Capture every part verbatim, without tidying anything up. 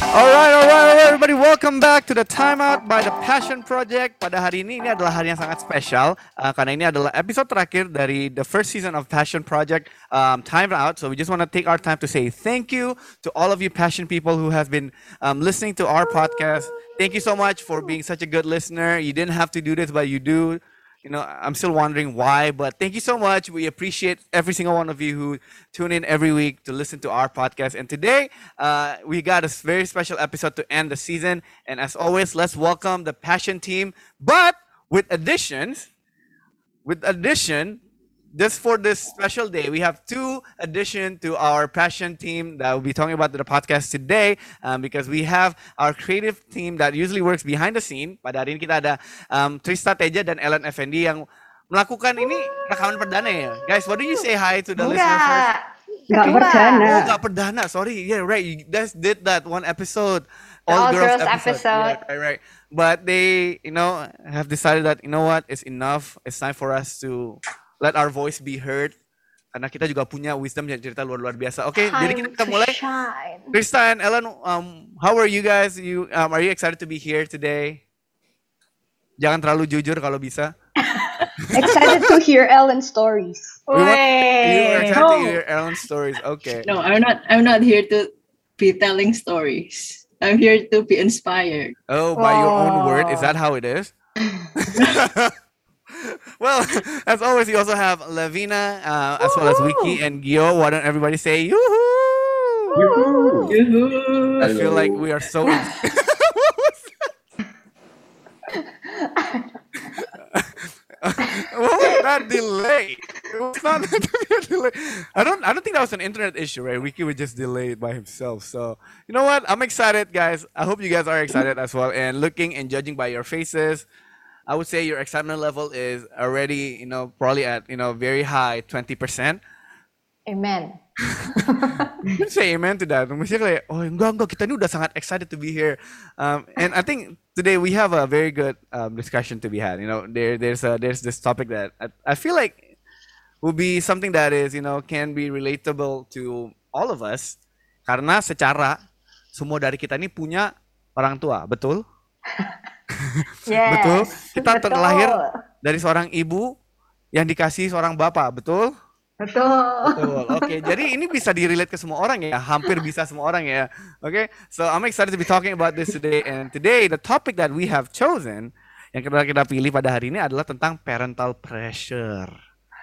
Alright, alright, alright, everybody, welcome back to the Timeout by the Passion Project. Pada hari ini, ini adalah hari yang sangat spesial uh, karena ini adalah episode terakhir dari the first season of Passion Project, um, Time Out. So we just want to take our time to say thank you to all of you passion people who have been um, listening to our podcast. Thank you so much for being such a good listener. You didn't have to do this, but you do. You know, I'm still wondering why, but thank you so much. We appreciate every single one of you who tune in every week to listen to our podcast. And today, uh, we got a very special episode to end the season. And as always, let's welcome the Passion team, but with additions. With addition, just for this special day, we have two addition to our Passion team that will be talking about the podcast today, um, because we have our creative team that usually works behind the scene. Pada hari ini kita ada um, Trista Teja dan Ellen Effendi yang melakukan ini rekaman perdana ya. Guys, what do you say hi to the Enggak. listeners first? Enggak perdana. Oh, nggak perdana. Sorry. Yeah, right. You guys did that one episode. The All, All girls, Girls episode. episode. Yeah, right, right. But they, you know, have decided that, you know what, it's enough. It's time for us to let our voice be heard. Karena kita juga punya wisdom yang cerita luar-luar biasa. Oke, jadi Time kita to mulai. shine. Krista and Ellen, um, how are you guys? You, um, are you excited to be here today? Jangan terlalu jujur kalau bisa. Excited to hear Ellen's stories. We want- you are Wey. excited to No. hear Ellen's stories. Okay. No, I'm not. I'm not here to be telling stories. I'm here to be inspired. Oh, by your own word, is Oh. that how it is? Well, as always, we also have Lavina, uh, as well as Wiki and Gio. Why don't everybody say yoo-hoo? Yoo-hoo. I feel like we are so. What was that delay? It was not meant to be a delay. I don't. I don't think that was an internet issue, right? Wiki would just delay it by himself. So you know what? I'm excited, guys. I hope you guys are excited as well. And looking and judging by your faces, I would say your excitement level is already, you know, probably at you know very high twenty percent. Amen. You can say amen to that. Maksudnya kayak, oh enggak enggak kita ini udah sangat excited to be here. Um, and I think today we have a very good um, discussion to be had. You know, there there's a, there's this topic that I, I feel like will be something that is you know can be relatable to all of us. Karena secara semua dari kita ini punya orang tua, betul? Yes. Betul. Kita Betul. terlahir dari seorang ibu yang dikasih seorang bapak, betul? Betul. Betul. Oke, jadi ini bisa di-relate ke semua orang ya, hampir bisa semua orang ya. Oke, so I'm excited to be talking about this today. And today the topic that we have chosen yang kita kita pilih pada hari ini adalah tentang parental pressure.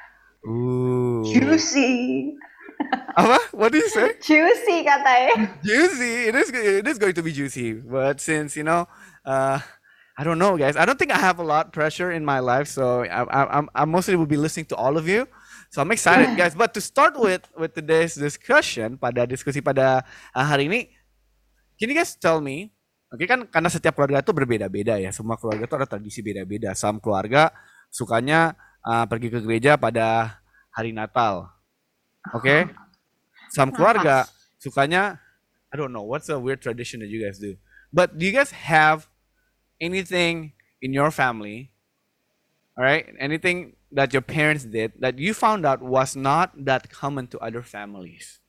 Ooh. Juicy. Apa? What did you say? Juicy katanya. Juicy. It is. It is going to be juicy. But since you know, uh, I don't know, guys. I don't think I have a lot pressure in my life, so I, I, I'm I mostly will be listening to all of you. So I'm excited, guys. But to start with with today's discussion, pada diskusi pada uh, hari ini, can you guys tell me? Oke kan karena setiap keluarga itu berbeda-beda ya. Semua keluarga itu ada tradisi beda-beda. Some keluarga sukanya uh, pergi ke gereja pada hari Natal. Oke. Some keluarga sukanya, I don't know, what's a weird tradition that you guys do? But do you guys have anything in your family, all right? Anything that your parents did that you found out was not that common to other families?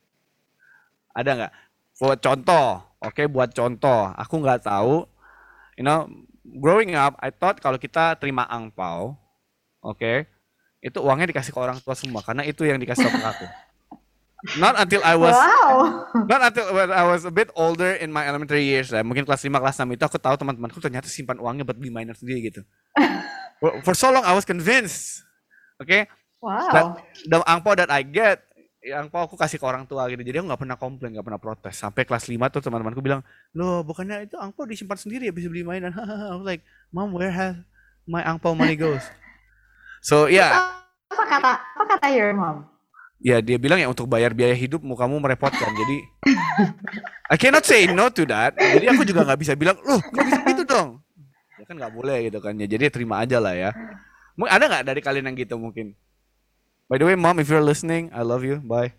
Ada nggak? Buat contoh, oke, buat contoh. Aku nggak tahu, you know, growing up, I thought kalau kita terima angpau, oke, itu uangnya dikasih ke orang tua semua, karena itu yang dikasih ke aku. Not until I was Wow. Not until when I was a bit older in my elementary years lah. Mungkin kelas lima, kelas enam itu aku tahu teman-temanku ternyata simpan uangnya buat beli mainan sendiri gitu. For, for so long I was convinced. Oke. Wow. That the angpau that I get, ya, angpau aku kasih ke orang tua gitu. Jadi aku nggak pernah komplain, nggak pernah protes. Sampai kelas lima tuh teman-temanku bilang, "Loh, bukannya itu angpau disimpan sendiri ya bisa beli mainan?" I was like, "Mom, where has my angpau money goes?" So, yeah. Apa kata apa kata your mom? Ya dia bilang ya untuk bayar biaya hidupmu kamu merepotkan. Jadi I cannot say no to that. Jadi aku juga nggak bisa bilang, loh nggak bisa gitu dong. Ya kan nggak boleh gitu kan. Ya jadi terima aja lah ya. Mungkin ada nggak dari kalian yang gitu mungkin? By the way, mom, if you're listening, I love you. Bye.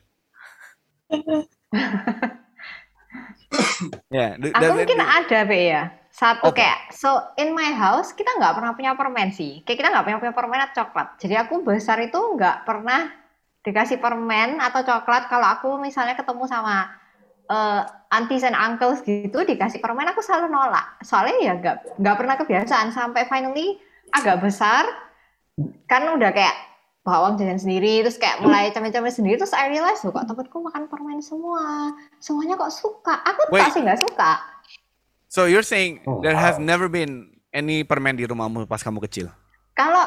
Ya, yeah, Aku mungkin ada be ya. Satu Apa? kayak so in my house kita nggak pernah punya permen sih. Kayak kita nggak pernah punya permen atau coklat. Jadi aku besar itu nggak pernah dikasih permen atau coklat kalau aku misalnya ketemu sama eh, aunties and uncles gitu dikasih permen aku selalu nolak. Soalnya ya nggak nggak pernah kebiasaan sampai finally agak besar kan udah kayak bawa uang jajan sendiri terus kayak mulai cemil-cemil sendiri terus I realize loh kok temenku makan permen semua. Semuanya kok suka. Aku Wait. tak sih nggak suka. So you're saying Oh, there has wow. never been any permen di rumahmu pas kamu kecil? Kalau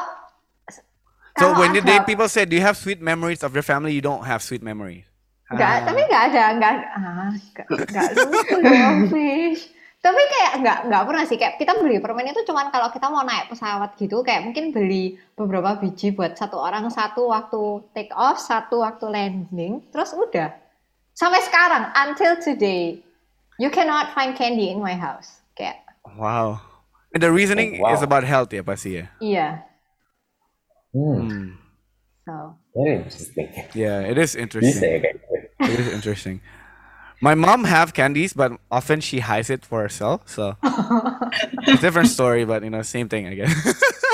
So kalau when the ada- day people say, do you have sweet memories of your family? You don't have sweet memories. Nggak, Ah. tapi nggak ada, nggak, ah, nggak, nggak lucu dong, Fish. Tapi kayak nggak, nggak pernah sih, kayak kita beli permen itu cuman kalau kita mau naik pesawat gitu, kayak mungkin beli beberapa biji buat satu orang, satu waktu take off, satu waktu landing, terus udah. Sampai sekarang, until today, you cannot find candy in my house. Kayak, Wow. And the reasoning Oh, wow. is about health ya pasti ya. iya, Hmm, Hmm. so. very interesting. Yeah, it is Bisa interesting. ya kayak gitu. It is interesting. My mom have candies, but often she hides it for herself. So it's a different story, but you know, same thing I guess.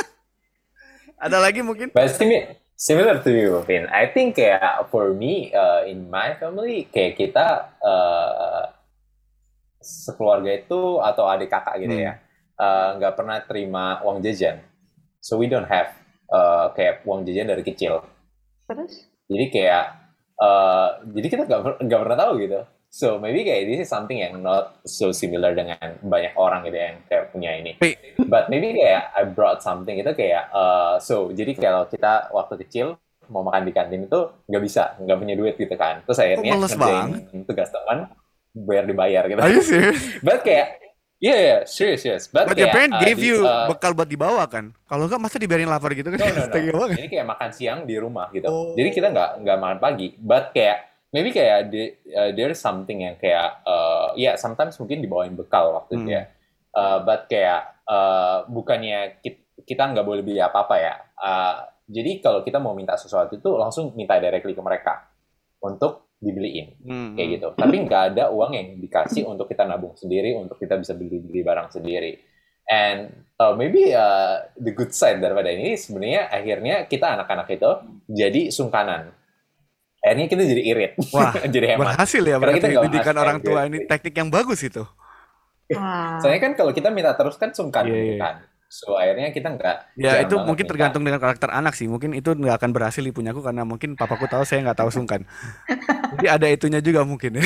Ada lagi mungkin? But simi- similar to you, Vin. I think kayak for me, uh, in my family, kayak kita uh, sekeluarga itu atau adik kakak gitu Hmm. ya, uh, nggak pernah terima uang jajan. So we don't have uh, kayak uang jajan dari kecil. Terus? Jadi kayak, uh, jadi kita nggak per- nggak pernah tahu gitu. So maybe kayak this is something yang not so similar dengan banyak orang gitu yang kayak punya ini. Wait, But maybe kayak I brought something itu kayak, uh, so jadi kalau kita waktu kecil mau makan di kantin itu nggak bisa, nggak punya duit gitu kan. Terus akhirnya males ngerjain tugas teman, bayar dibayar gitu. are you serious? But kayak, yeah, yeah, serious, serious. But, But your kayak, parent uh, gave di- you uh, bekal buat dibawa kan? Kalau enggak masa dibiarin lapar gitu kan? No, no, no. Tega banget. Jadi kayak makan siang di rumah gitu. Oh. Jadi kita nggak nggak makan pagi. But kayak maybe kayak the, uh, there's something yang kayak uh, ya yeah, sometimes mungkin dibawain bekal waktu itu Hmm. ya. Uh, but kayak uh, bukannya kita, kita nggak boleh beli apa-apa ya. Uh, jadi kalau kita mau minta sesuatu itu langsung minta directly ke mereka untuk dibeliin Hmm. kayak gitu. Tapi nggak ada uang yang dikasih untuk kita nabung sendiri, untuk kita bisa beli-beli barang sendiri. And uh, maybe uh, the good side daripada ini sebenarnya akhirnya kita anak-anak itu jadi sungkanan. Akhirnya kita jadi irit, Wah, jadi hemat. berhasil ya Karena berarti kita nggak didikan makan orang tua gitu. ini teknik yang bagus itu. Wah. Soalnya kan kalau kita minta terus kan sungkan Iya, gitu iya. kan. So akhirnya kita nggak. Ya jarang itu banget mungkin minta. tergantung dengan karakter anak sih. Mungkin itu nggak akan berhasil di punyaku karena mungkin papaku tahu saya nggak tahu sungkan. Jadi ada itunya juga mungkin ya.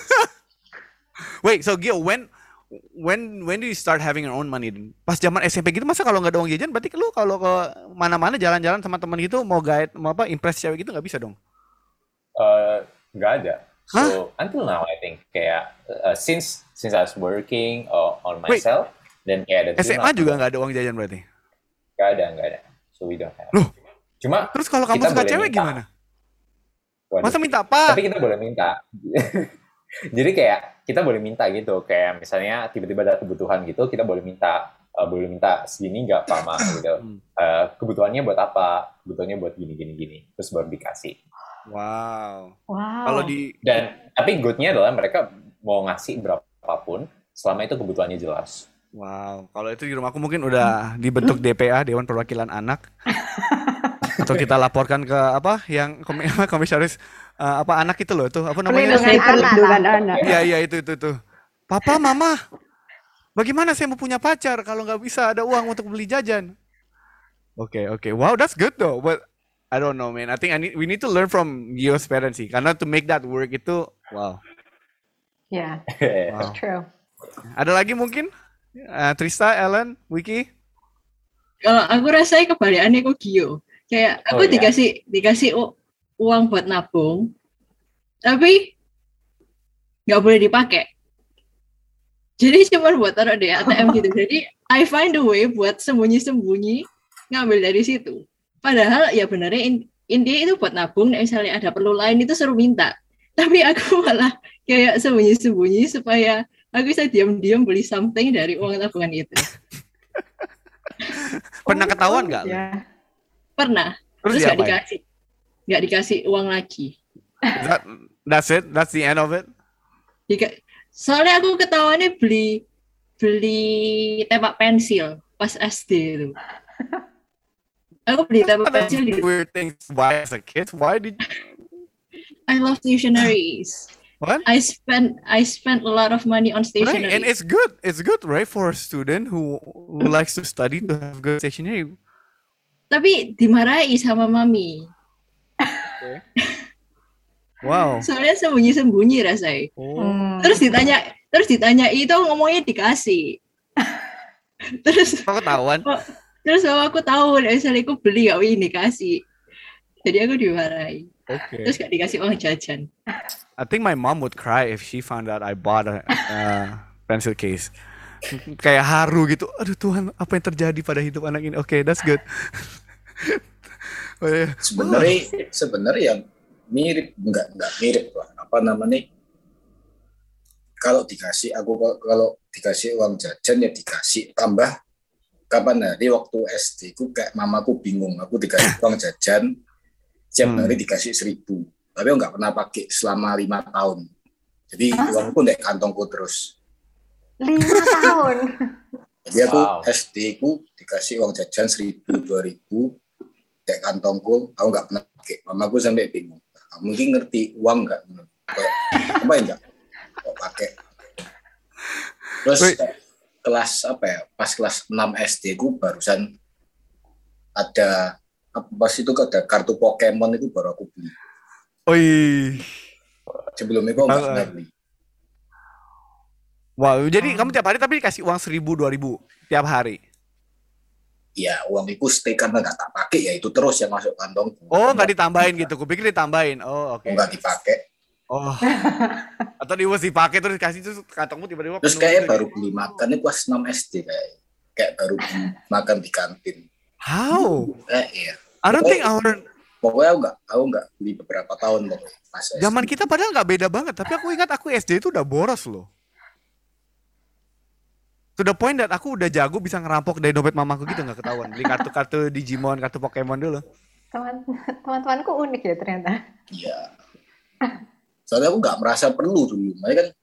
Wait, so Gio, when when when do you start having your own money? Pas zaman S M P gitu masa kalau nggak ada uang jajan berarti lu kalau ke mana-mana jalan-jalan sama teman gitu mau guide mau apa impress cewek gitu nggak bisa dong? Uh, nggak ada. So until now I think kayak uh, since since I was working uh, on Wait. myself dan kayak ada S M A juga nggak ada uang jajan berarti? nggak ada nggak ada. So we don't have. Loh. Cuma Terus kalau kamu kita suka boleh cewek minta. gimana? Waduh. Masa minta apa? Tapi kita boleh minta. Jadi kayak kita boleh minta gitu, kayak misalnya tiba-tiba ada kebutuhan gitu, kita boleh minta, uh, boleh minta segini nggak Pak Ma gitu. Hmm. Uh, kebutuhannya buat apa? Kebutuhannya buat gini gini gini, terus baru dikasih. Wow. Wow. Kalau di Dan tapi goodnya adalah mereka mau ngasih berapapun selama itu kebutuhannya jelas. Wow, kalau itu di rumahku mungkin udah dibentuk D P A, Dewan Perwakilan Anak. Atau kita laporkan ke apa yang komi- apa, komisaris eh, apa anak itu loh tuh apa namanya? Pelindungan anak. Perlindungan anak. Iya iya itu itu tuh. Papa, mama, bagaimana saya mau punya pacar kalau nggak bisa ada uang untuk beli jajan? Oke oke, wow that's good though. But I don't know man. I think I need we need to learn from Gio's parents sih. Karena to make that work itu wow. Yeah, Wow. true. Ada lagi mungkin? Eh, Trista, Ellen, Wiki? Kalau aku rasanya kebalikannya kok Gio. Kayak Oh, aku ya? dikasih dikasih u- uang buat nabung, tapi nggak boleh dipakai. Jadi cuma buat taruh di A T M gitu. Jadi I find a way buat sembunyi-sembunyi ngambil dari situ. Padahal ya benernya in- intinya itu buat nabung. Misalnya ada perlu lain itu suruh minta. Tapi aku malah kayak sembunyi-sembunyi supaya aku bisa diam-diam beli something dari uang tabungan itu. Pernah Oh, ketahuan nggak? lu? ya. Pernah. Terus Terus nggak diapain? dikasih, nggak dikasih uang lagi. That, that's it? That's the end of it? Dika- Soalnya aku ketahuannya beli beli tempat pensil pas S D itu. Aku beli tempat That's pensil di weird things. Why as a kid? Why did I love dictionaries. What? I spent I spent a lot of money on Right, stationery. and it's good. It's good, right, for a student who, who likes to study to have good stationery. Tapi dimarahi sama mami. Wow. Soalnya sembunyi-sembunyi rasanya. Oh. Hmm. Terus ditanya, terus ditanya itu ngomongnya dikasih. Terus Kok ketahuan? terus kalau aku tahu, misalnya aku beli gak ini dikasih. Jadi aku dimarahi. Okay. Terus gak dikasih uang jajan. I think my mom would cry if she found out I bought a uh, pencil case. Kayak haru gitu. Aduh Tuhan, apa yang terjadi pada hidup anak ini? Oke, okay, that's good. Oh, yeah. Sebenarnya sebenarnya mirip enggak enggak mirip lah. Apa namanya? Kalau dikasih aku kalau dikasih uang jajan ya dikasih tambah kapan hari waktu S D ku kayak mamaku bingung aku dikasih uang jajan setiap hari dikasih seribu tapi aku nggak pernah pakai selama lima tahun jadi Hah? uangku di kantongku terus lima tahun jadi aku Wow. S D ku dikasih uang jajan seribu dua ribu di kantongku aku nggak pernah pakai mamaku sampai bingung mungkin ngerti uang nggak kayak apa ya nggak kok pakai terus Wait. kelas apa ya pas kelas enam S D ku barusan ada apa pas itu ada kartu Pokemon itu baru aku beli Oi. sebelum itu nggak Ah. pernah beli Wow, jadi kamu tiap hari tapi dikasih uang seribu, dua ribu tiap hari. ya uang itu stay karena nggak tak pakai ya itu terus yang masuk kantongku Oh, nggak ditambahin gitu. Kupikir ditambahin. Oh, oke. nggak dipakai Oh. Atau di was dipakai terus dikasih terus kantongmu tiba-tiba terus penuh kayak gitu. baru beli makan itu pas enam S D kayak kayak baru beli makan di kantin How? kayak iya I don't think our pokoknya aku nggak aku nggak beli beberapa tahun pokoknya pas S D. zaman kita padahal nggak beda banget, tapi aku ingat aku S D itu udah boros loh. To the point that aku udah jago bisa ngerampok dari dompet mamaku gitu nggak ketahuan. Beli kartu-kartu Digimon, kartu Pokemon dulu. teman teman-temanku unik ya ternyata. Iya. Soalnya aku nggak merasa perlu dulu. Makanya kan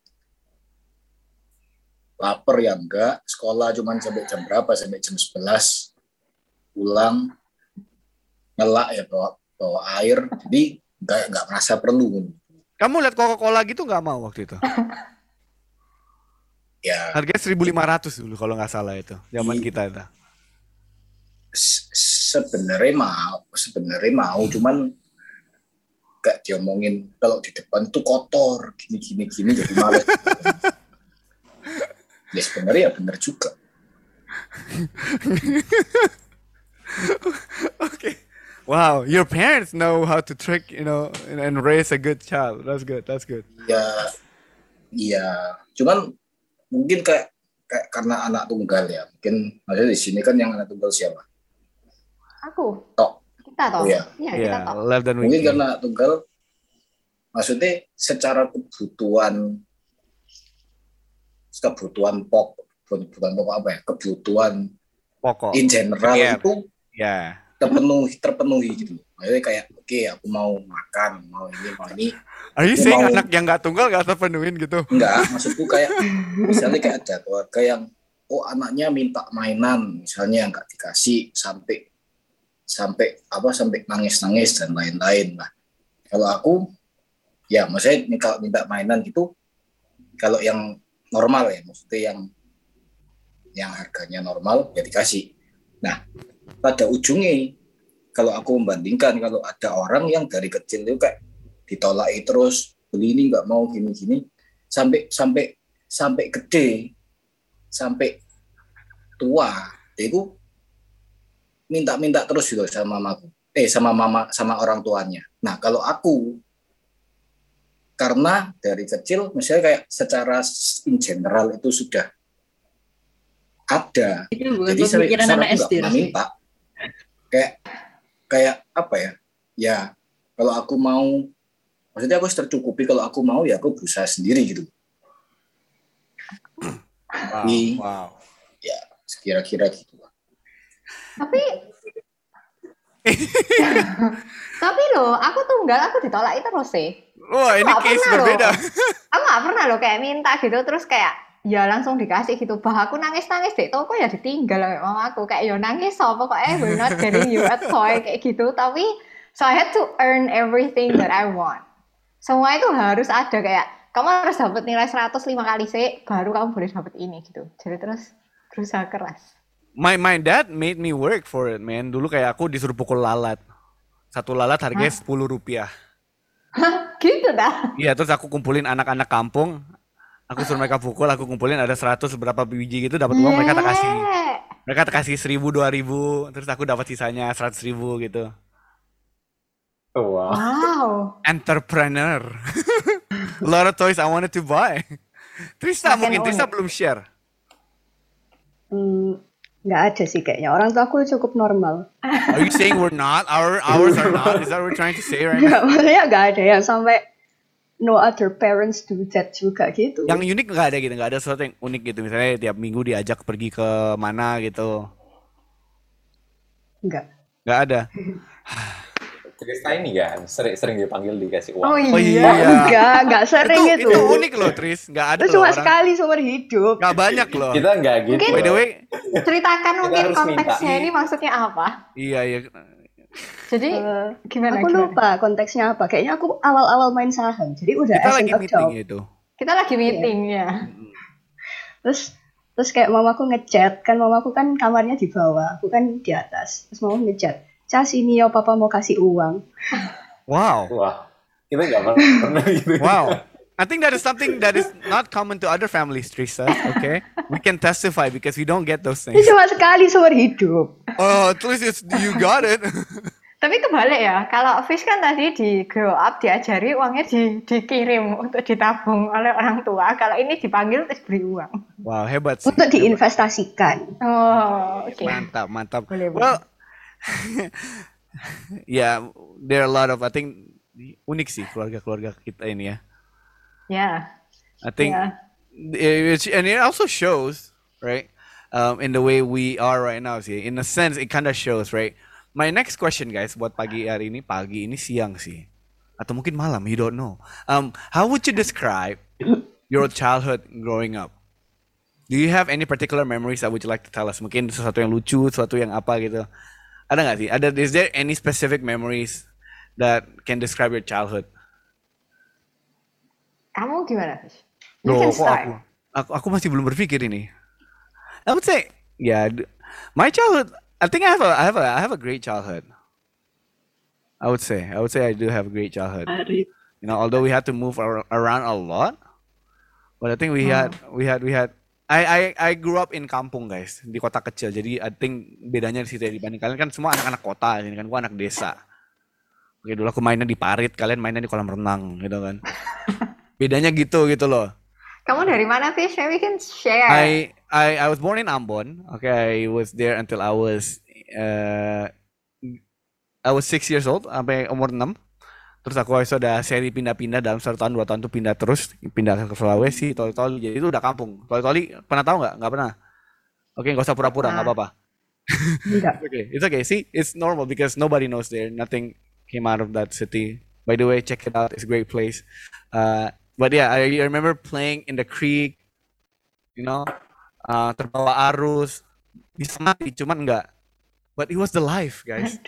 lapar ya enggak, sekolah cuman sampai jam berapa? Sampai jam sebelas. Pulang, ngelak ya bawa, bawa air. Jadi nggak nggak merasa perlu. Kamu lihat Coca-Cola gitu nggak mau waktu itu? Ya Harganya seribu lima ratus dulu kalau nggak salah itu. Zaman Iya. kita itu. se- sebenarnya mau, sebenarnya mau, cuman gak diomongin kalau di depan tuh kotor, gini gini gini jadi males. Ya sebenarnya ya benar juga. Okay. Wow, your parents know how to trick, you know, and, and raise a good child. That's good. That's good. Ya, iya. Cuman mungkin kayak kayak karena anak tunggal ya. Mungkin maksudnya di sini kan yang anak tunggal siapa? Aku. Tok. Kita toh. Oh, iya. Iya, kita Yeah, toh. left dan Mungkin Wiki. karena tunggal, maksudnya secara kebutuhan, kebutuhan pokok, kebutuhan pokok apa ya? Kebutuhan Pokok. in general Iya. itu Ya. terpenuhi terpenuhi gitu. Maksudnya kayak oke okay, aku mau makan, mau ini, mau ini. Are you Aku saying mau- anak yang nggak tunggal nggak terpenuhin gitu? Enggak, maksudku kayak misalnya kayak ada keluarga yang oh anaknya minta mainan, misalnya nggak dikasih sampai sampai apa sampai nangis-nangis dan lain-lain lah. Kalau aku ya maksudnya ini kalau minta mainan gitu kalau yang normal ya maksudnya yang yang harganya normal ya dikasih. Nah, pada ujungnya kalau aku membandingkan kalau ada orang yang dari kecil itu kayak ditolaki terus beli ini nggak mau gini-gini sampai sampai sampai gede sampai tua itu minta-minta terus gitu sama mamaku eh sama mama sama orang tuanya. Nah kalau aku karena dari kecil misalnya kayak secara in general itu sudah ada Itu bukan jadi saya pemikiran anak S D nggak rasanya. minta kayak kayak apa ya ya kalau aku mau maksudnya aku harus tercukupi kalau aku mau ya aku berusaha sendiri gitu Wow. Iya. Wow. ya sekira-kira gitu lah. Tapi Tapi loh, aku tunggal, aku ditolak terus sih. Wah, ini Nggak case pernah loh. berbeda. Aku nggak pernah loh kayak minta gitu terus kayak ya langsung dikasih gitu. Bah aku nangis-nangis deh, toko ya ditinggal sama mama aku kayak ya nangis so pokoknya we're not getting you a toy kayak gitu. Tapi so I had to earn everything that I want. Semua itu harus ada kayak kamu harus dapat nilai seratus lima kali sih, baru kamu boleh dapat ini gitu. Jadi terus berusaha keras. My my dad made me work for it, man. Dulu kayak aku disuruh pukul lalat. Satu lalat harganya sepuluh rupiah. Hah? Gitu dah. Iya, terus aku kumpulin anak-anak kampung. Aku suruh mereka pukul, aku kumpulin ada seratus berapa biji gitu, dapat uang mereka tak kasih. Yeah. Mereka tak kasih seribu, dua ribu, terus aku dapat sisanya seratus ribu gitu. Oh, wow. Wow. Entrepreneur. A lot of toys I wanted to buy. Trista Makin mungkin, Trista unik. belum share. Hmm, nggak ada sih kayaknya. Orang tua aku cukup normal. Are you saying we're not? Our ours are not? Is that what we're trying to say right now? Nggak, maksudnya nggak ada yang sampai no other parents do that juga gitu. Yang unik nggak ada gitu, nggak ada sesuatu yang unik gitu. Misalnya tiap minggu diajak pergi ke mana gitu. Nggak. Nggak ada. Trista ini kan sering sering dipanggil dikasih uang. Oh iya. Oh iya. Nggak, nggak sering itu, itu. itu unik loh, Tris. Nggak ada Itu loh cuma orang. sekali seumur hidup. Nggak banyak loh. Kita nggak gitu. Mungkin- By the way, Ceritakan mungkin harus konteksnya minta. ini maksudnya apa. iya iya. Jadi Eh, gimana? aku gimana? lupa konteksnya apa. Kayaknya aku awal-awal main saham. Jadi udah Kita as lagi an meeting adult. itu. Kita lagi meeting ya. Terus terus kayak mamaku ngechat, kan mamaku kan kamarnya di bawah, aku kan di atas. Terus mamaku ngechat, "Cas, ini ya papa mau kasih uang." Wow. Wah, kita nggak pernah pernah gitu. Wow. I think that is something that is not common to other families, Trista. Okay, we can testify because we don't get those Ini things. cuma sekali seumur hidup. Oh, at least it's, you got it. Tapi kebalik ya, kalau Fish kan tadi di grow up diajari uangnya di, dikirim untuk ditabung oleh orang tua. Kalau ini dipanggil terus beri uang. Wow, hebat sih. Untuk diinvestasikan. Oh, oke. Mantap, mantap. Boleh, boleh. Well, yeah, there are a lot of, I think, unik sih keluarga-keluarga kita ini ya. Ya. I think, Yeah. it, and it also shows, right, um, in the way we are right now sih. In a sense, it kind of shows, right. My next question, guys, buat pagi hari ini, pagi ini siang sih, atau mungkin malam, you don't know. Um, how would you describe your childhood growing up? Do you have any particular memories that would you like to tell us? Mungkin sesuatu yang lucu, sesuatu yang apa gitu. Ada nggak sih? Ada, is there any specific memories that can describe your childhood? Kamu gimana, Fish? You Loh, can kok start. aku, aku, aku masih belum berpikir ini. I would say, yeah, d- my childhood. I think I have a, I have a, I have a great childhood. I would say, I would say I do have a great childhood. Hari. You know, although we had to move ar- around a lot, but I think we had, we had, we had. I, I, I grew up in kampung, guys, di kota kecil. Jadi I think bedanya di situ ya, dibanding kalian kan semua anak-anak kota, ini kan gua anak desa. Oke, dulu aku mainnya di parit, kalian mainnya di kolam renang, gitu kan. Bedanya gitu, gitu loh. Kamu dari mana, Fish? Maybe we can share. I I I was born in Ambon. Okay, I was there until I was uh I was six years old sampai umur enam. Terus aku sudah seri pindah-pindah dalam satu tahun dua tahun tuh pindah terus pindah ke Sulawesi, Toli-Toli. Jadi itu udah kampung. Toli-Toli pernah tahu nggak? Nggak pernah. Oke, nggak usah pura-pura, nggak apa-apa. Enggak. It's okay, it's okay. See, it's normal because nobody knows there. Nothing came out of that city. By the way, check it out. It's a great place. Uh, but yeah, I remember playing in the creek. You know, uh, terbawa arus, bisa mati, cuman enggak. But it was the life, guys.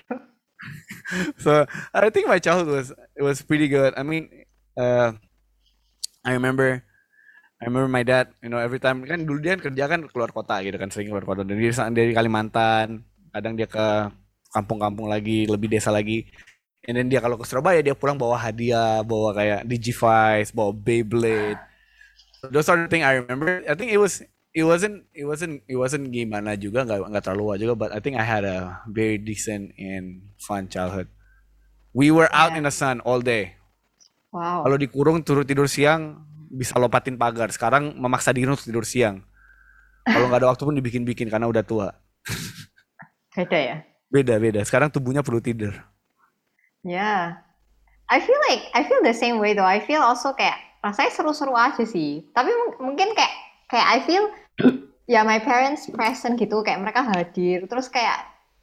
So I think my childhood was it was pretty good. I mean, uh, I remember, I remember my dad. You know, every time kan dulu dia kerja kan keluar kota gitu kan, sering keluar kota. Dan dia dari Kalimantan, kadang dia ke kampung-kampung lagi, lebih desa lagi. And then dia kalau ke Surabaya dia pulang bawa hadiah, bawa kayak Digivice, bawa Beyblade. So those are the thing I remember. I think it was it wasn't it wasn't it wasn't gimana juga, nggak nggak terlalu wah juga, but I think I had a very decent and fun childhood. We were out in the sun all day. Wow. Kalau dikurung turun tidur siang bisa lompatin pagar. Sekarang memaksa diri untuk tidur siang. Kalau nggak ada waktu pun dibikin-bikin karena udah tua. Beda ya? Beda beda. Sekarang tubuhnya perlu tidur. Yeah. I feel like I feel the same way though. I feel also kayak rasanya seru-seru aja sih. Tapi mung- mungkin kayak kayak I feel ya my parents present gitu, kayak mereka hadir. Terus kayak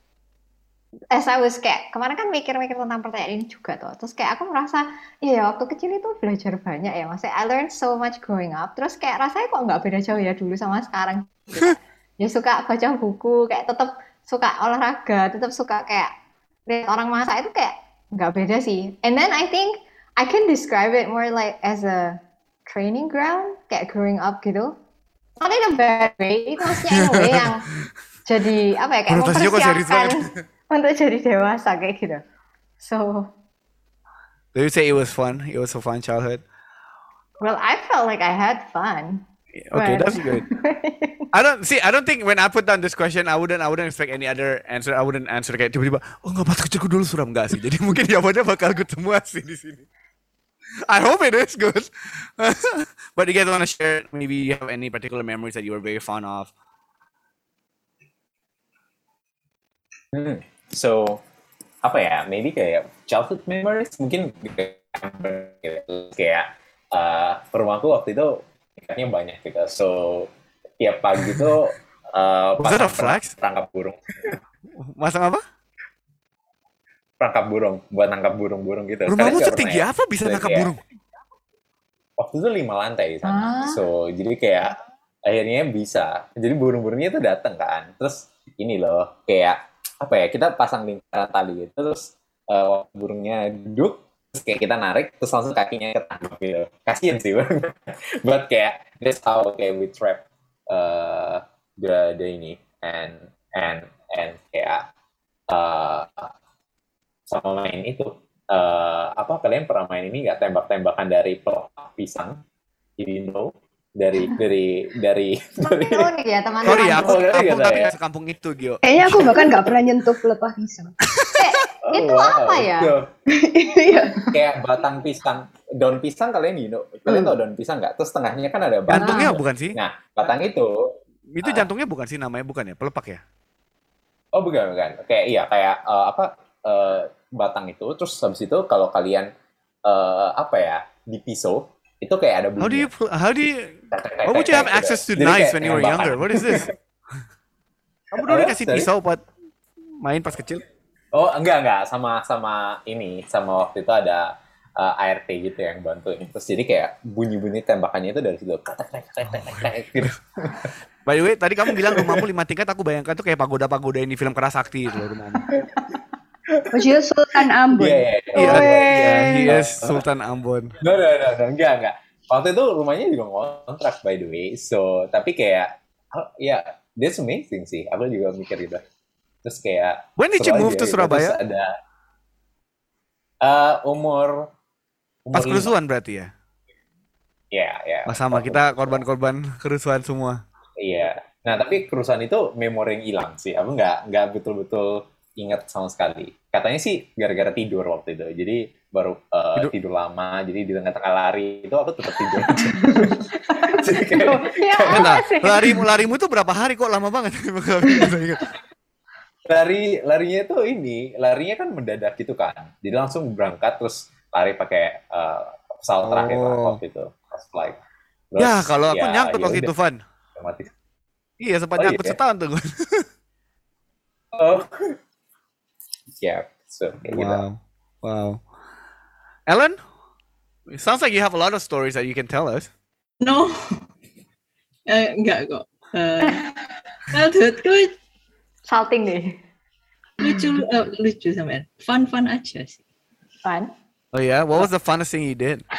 as I was kayak kemarin kan mikir-mikir tentang pertanyaan ini juga tuh. Terus kayak aku merasa iya ya waktu kecil itu belajar banyak ya. Maksudnya I learned so much growing up. Terus kayak rasanya kok nggak beda jauh ya dulu sama sekarang. Gitu. Ya suka baca buku, kayak tetap suka olahraga, tetap suka kayak lihat orang masak itu kayak nggak beda sih. And then I think I can describe it more like as a training ground, kayak growing up gitu. Not in a bad way, itu maksudnya in a way yang jadi apa ya, kayak Konotasinya kok serius mempersiapkan banget. untuk jadi dewasa kayak gitu. So, Do you say it was fun? It was a fun childhood. well, I felt like I had fun. Okay, but- that's good. I don't see. I don't think when I put down this question, I wouldn't. I wouldn't expect any other answer. I wouldn't answer kayak tiba-tiba. Oh nggak, masa kecilku dulu suram, nggak sih. Jadi mungkin jawabannya bakal good semua sih di sini. I hope it is good. But you guys want to share? Maybe you have any particular memories that you were very fond of? Hmm. So apa ya? Maybe kayak childhood memories mungkin kayak uh, rumahku waktu itu ikannya banyak gitu. So tiap pagi tuh uh, Was that a pasang flex? perangkap burung, Masang apa? perangkap burung buat nangkap burung-burung gitu. Rumahmu Kalian nggak setinggi pernah ya? apa bisa Jadi nangkap kayak- burung? Waktu itu lima lantai di sana. Ah. So jadi kayak akhirnya bisa. Jadi burung-burungnya tuh datang kan. Terus ini loh kayak apa ya? Kita pasang lingkaran tali gitu. Terus uh, burungnya duduk. Terus kayak kita narik. Terus langsung kakinya ketangkap gitu. Kasian sih. But kayak that's how kayak we trap uh, the the ini and and and kayak uh, sama main itu. Uh, apa kalian pernah main ini nggak, tembak-tembakan dari pelepah pisang? You know, dari dari dari dari Makin unik ya teman-teman. Sorry ya, aku Oh, iya, kampung iya, tapi iya. nggak sekampung itu, Gio. Kayaknya aku bahkan nggak pernah nyentuh pelepah pisang. Oh, Itu apa ya? Tuh. Iya. Kayak batang pisang, daun pisang kalian you know, kalian Hmm. tau daun pisang nggak? Terus tengahnya kan ada batang. Jantungnya bukan sih? Nah, batang itu, Itu Ah. jantungnya bukan sih namanya, bukan ya? Pelepak ya? oh bukan bukan, kayak iya kayak eh, apa eh, batang itu, terus habis itu kalau kalian eh, apa ya di pisau itu kayak ada bunyi. How do you pl- how do you Why would you have access to Jadi knives kayak when you were tembakan. younger? What is this? Kamu dulu Apa? dikasih Sorry? pisau buat main pas kecil? Oh enggak enggak, sama sama ini sama waktu itu ada uh, A R T gitu yang bantuin. Terus jadi kayak bunyi-bunyi tembakannya itu dari situ. Kretek, kretek, kretek, kretek, gitu. By the way, tadi kamu bilang rumahmu lima tingkat, aku bayangkan tuh kayak pagoda-pagoda yang di film Kerasakti itu loh rumahmu. Maksudnya Sultan Ambon. Iya iya Iya, iya. iya, he is Sultan Ambon. No, no, no, no, enggak, enggak. Waktu itu rumahnya juga ngontrak, by the way. So, tapi kayak, oh, ya, that's amazing sih. Aku juga mikir gitu. Terus kayak, When did you seru move aja to gitu. Surabaya? Terus ada, uh, umur, umur Pas lima. kerusuhan berarti ya? Iya, iya. Oh, sama, kita korban-korban kerusuhan semua. Iya. Nah, tapi kerusuhan itu memori yang hilang sih. Aku nggak, nggak betul-betul ingat sama sekali. Katanya sih gara-gara tidur waktu itu. Jadi baru uh, Tidur- tidur. lama. Jadi di tengah-tengah lari itu aku tetap tidur aja. Jadi kayak, Ya, Bentar, sih. larimu, larimu tuh berapa hari kok lama banget? Nggak bisa ingat. lari larinya itu ini larinya kan mendadak gitu kan, jadi langsung berangkat terus lari pakai uh, pesawat terakhir lah Oh. waktu itu pas flight. Terus, Ya, kalau aku ya, nyangkut ya waktu udah, itu, Van. otomatis. Iya, sempat Oh, nyangkut iya? setahun tuh. Oh ya, so kayak gitu. Wow, wow. Ellen, it sounds like you have a lot of stories that you can tell us. No. Eh, enggak kok. Eh, childhoodku Salting deh. lucu, eh, lucu sampean. Fun-fun aja sih. Fun. Oh yeah, what was the funnest thing you did?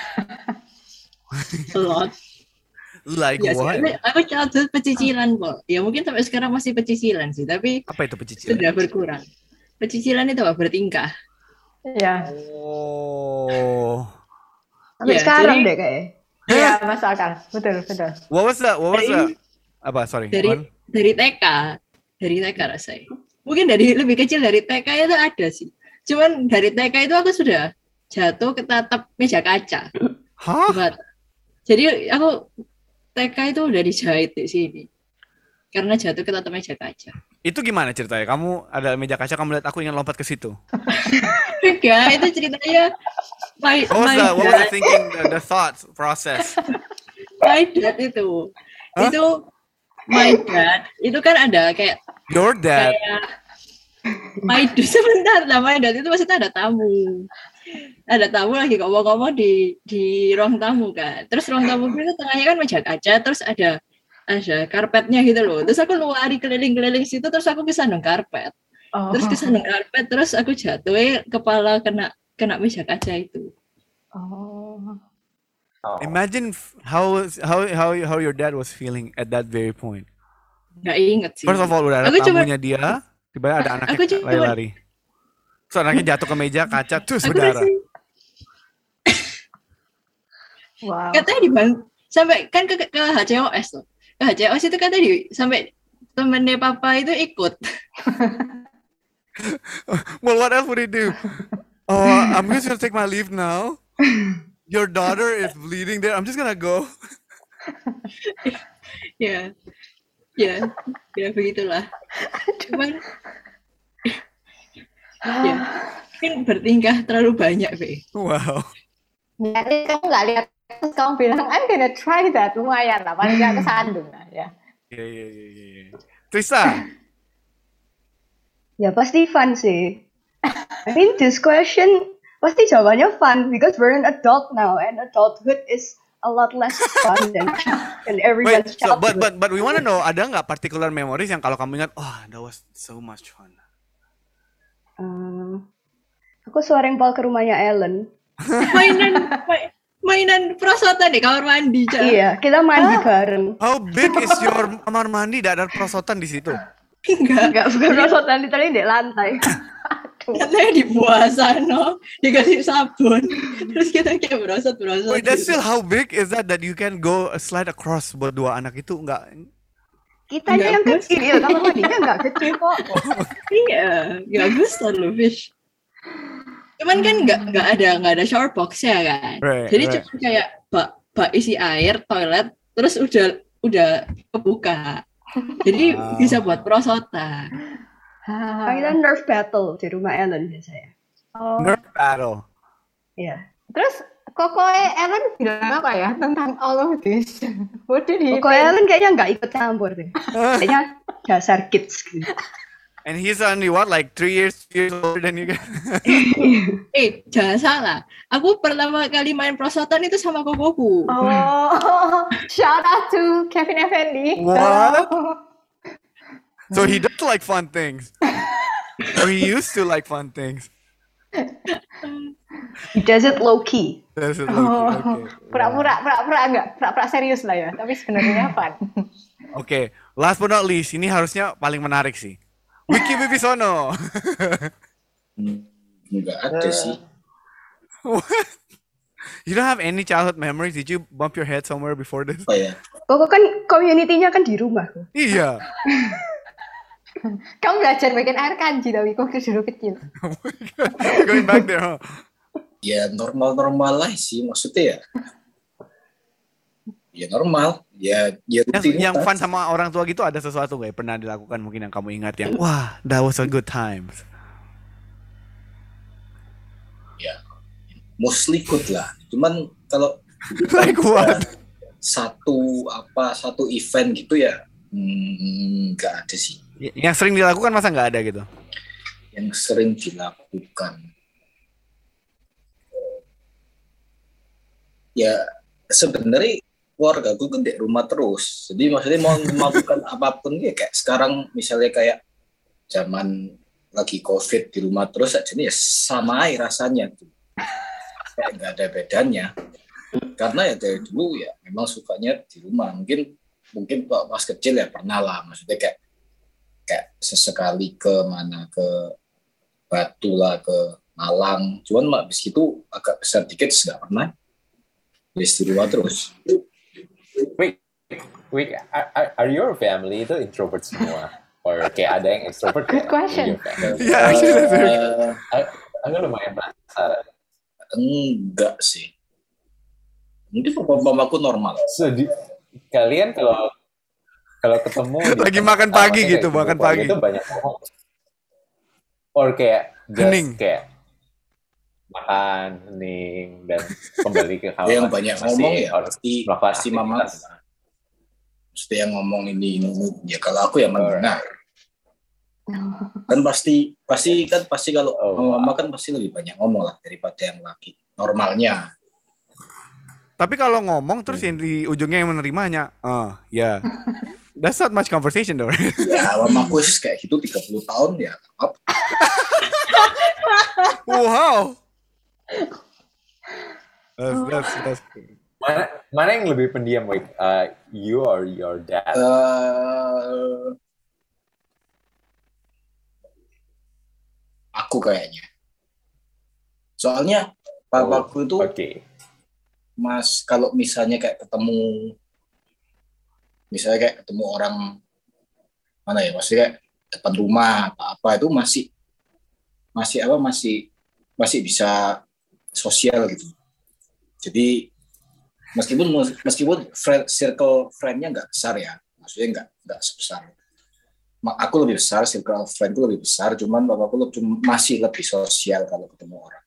A lot. Like Ya sih, what? aku- aku childhood pecicilan kok. Ya mungkin sampai sekarang masih pecicilan sih, tapi Apa itu pecicilan? sudah berkurang. Pecicilan itu apa? Bertingkah. Ya. Oh, Sampai Ya, sekarang jadi- deh kayaknya. Iya, masuk akal. Betul, betul. what was that? What was that? Dari- Apa? Sorry. dari Wan? dari T K, dari T K rasanya. Mungkin dari lebih kecil dari T K itu ada sih. Cuman dari T K itu aku sudah jatuh ke tatap meja kaca. Hah? Buat- Jadi aku T K itu udah dijahit di sini. Karena jatuh ke tatap meja kaca. Itu gimana ceritanya? Kamu ada meja kaca, kamu lihat aku ingin lompat ke situ. Enggak, itu ceritanya my, What was my the, what was the dad, thinking, the, the thoughts process? my dad itu. Hah? Itu my dad, itu kan ada kayak Your dad. kayak my dad sebentar lah, my dad itu maksudnya ada tamu. Ada tamu lagi ngomong-ngomong di di ruang tamu kan. Terus ruang tamu itu tengahnya kan meja kaca, terus ada ada karpetnya gitu loh. Terus aku lari keliling-keliling situ, terus aku kesandung karpet. Oh. Terus kesandung karpet, terus aku jatuh, eh, kepala kena kena meja kaca itu. Oh. Oh. Imagine f- how how how how your dad was feeling at that very point. Nggak inget sih. First of all, udah ada Aku cuma- tamunya dia, tiba-tiba ada anaknya Aku cuma- lari-lari. Terus anaknya jatuh ke meja kaca, terus Aku berdarah. masih Wow. katanya di bang sampai kan ke, ke H C O S tuh. Ke H C O S itu katanya di sampai temennya papa itu ikut. Well, what else would he do? Oh, I'm just gonna take my leave now. Your daughter is bleeding there. I'm just gonna go. Ya, ya, ya begitulah. Cuman, ya, mungkin bertingkah terlalu banyak, Be. Wow. Jadi kamu nggak lihat terus kamu bilang I'm gonna try that, lumayan lah, paling nggak kesandung lah ya. Yeah, yeah, yeah, yeah, yeah. Trista, Ya pasti fun sih. I mean this question pasti jawabannya fun because we're an adult now and adulthood is a lot less fun than, than wait. everyone's So, but childhood. but but we want to know, ada nggak particular memories yang kalau kamu ingat, oh, that was so much fun. Hmm, aku sering bal ke rumahnya Ellen. Mainan, ma- mainan perosotan di kamar mandi, Ca. Iya, kita mandi bareng. How big is your kamar mandi? Tidak ada perosotan di situ. Enggak, Enggak bukan rosotan literally di lantai. katanya di bawah sana, dikasih sabun, terus kita kayak berosot-berosot. Wait, that's gitu. still how big is that that you can go slide across buat dua anak itu enggak? Kitanya yang Enggak, kecil, kamar mandinya enggak kecil kok. Iya, nggak besar loh, Fish. Cuman kan nggak nggak ada nggak ada shower box ya kan. Right, Jadi right. cuma kayak bak bak isi air, toilet, terus udah udah kebuka. Jadi Wow. bisa buat perosotan. Nah, kita nerf battle di rumah Ellen biasanya. Oh. Nerf battle. Iya. Terus Koko Ellen bilang apa ya tentang all of this? What did he Kok think? Ellen kayaknya nggak ikut campur deh. Kayaknya dasar kids gitu. And he's only what, like three years, years older than you guys? Eh, jangan salah. Aku pertama kali main perosotan itu sama kokoku. Oh, shout out to Kevin Effendi. What? So he does like fun things. Or he used to like fun things. He does it low key. That's it, Oh, okay. pura-pura, pura-pura enggak, pura-pura serius lah ya. Tapi sebenarnya fun. Oke, last but not least, ini harusnya paling menarik sih. Wiki Wibisono. Hmm, nggak ada sih. What? You don't have any childhood memories? Did you bump your head somewhere before this? Apa ya? Kok kan community-nya kan di rumah. Iya. Kamu belajar bikin air kanji tapi kok dulu kecil. Going back there, huh? Ya normal-normal lah sih maksudnya ya. Ya normal. Ya ya Yang, rutin. yang fun sama orang tua gitu ada sesuatu nggak? Pernah dilakukan mungkin yang kamu ingat yang wah, that was a good times. Ya mostly good lah. Cuman kalau Like what? satu apa satu event gitu ya hmm, nggak ada sih. Y- Yang sering dilakukan masa nggak ada gitu? Yang sering dilakukan ya sebenarnya keluarga gue kan di rumah terus, jadi maksudnya mau melakukan apapun ya kayak sekarang misalnya kayak zaman lagi covid di rumah terus aja nih ya sama aja rasanya tuh, kayak nggak ada bedanya karena ya dari dulu ya memang sukanya di rumah. Mungkin mungkin pas kecil ya pernah lah, maksudnya kayak kayak sesekali ke mana ke Batu lah, ke Malang, cuman habis itu agak besar dikit nggak pernah. Di rumah terus. Wait, wait, are, are- are your family itu introvert semua? Or kayak ada yang extrovert? Good ya? question. In your family? Yeah, actually that's very Eh, Aku lumayan penasaran. enggak sih. Mungkin papa-papaku normal. So, di, kalian kalau kalau ketemu di Lagi tempat- makan ah, pagi maksudnya gitu, kayak makan keluarga pagi. itu banyak ngomong. Or kayak just Hening. kayak makan, hening, dan kembali ke kamar. Yang banyak Masih ngomong ya harus pasti melakukan pasti mama. aktivitas. Pasti yang ngomong ini ini. ini. Ya kalau aku ya mendengar. Kan pasti pasti kan pasti kalau Oh, mama kan pasti lebih banyak ngomong lah daripada yang laki. Normalnya. Tapi kalau ngomong terus yang di ujungnya yang menerimanya, ah, ya. That's not much conversation though. Right? Ya mamaku sih kayak gitu tiga puluh tahun ya. Apa? Wow. That's that's that's Mana mana yang lebih pendiam, like uh, you or your dad? Uh, aku kayaknya. Soalnya papaku itu Oke. Okay. Mas kalau misalnya kayak ketemu misalnya kayak ketemu orang mana ya, maksudnya kayak depan rumah apa-apa itu masih masih apa masih masih bisa sosial gitu. Jadi meskipun meskipun friend, circle friend-nya nggak besar ya, maksudnya nggak nggak sebesar. Aku lebih besar, circle friend-ku lebih besar, cuman bapakku lebih, masih lebih sosial kalau ketemu orang.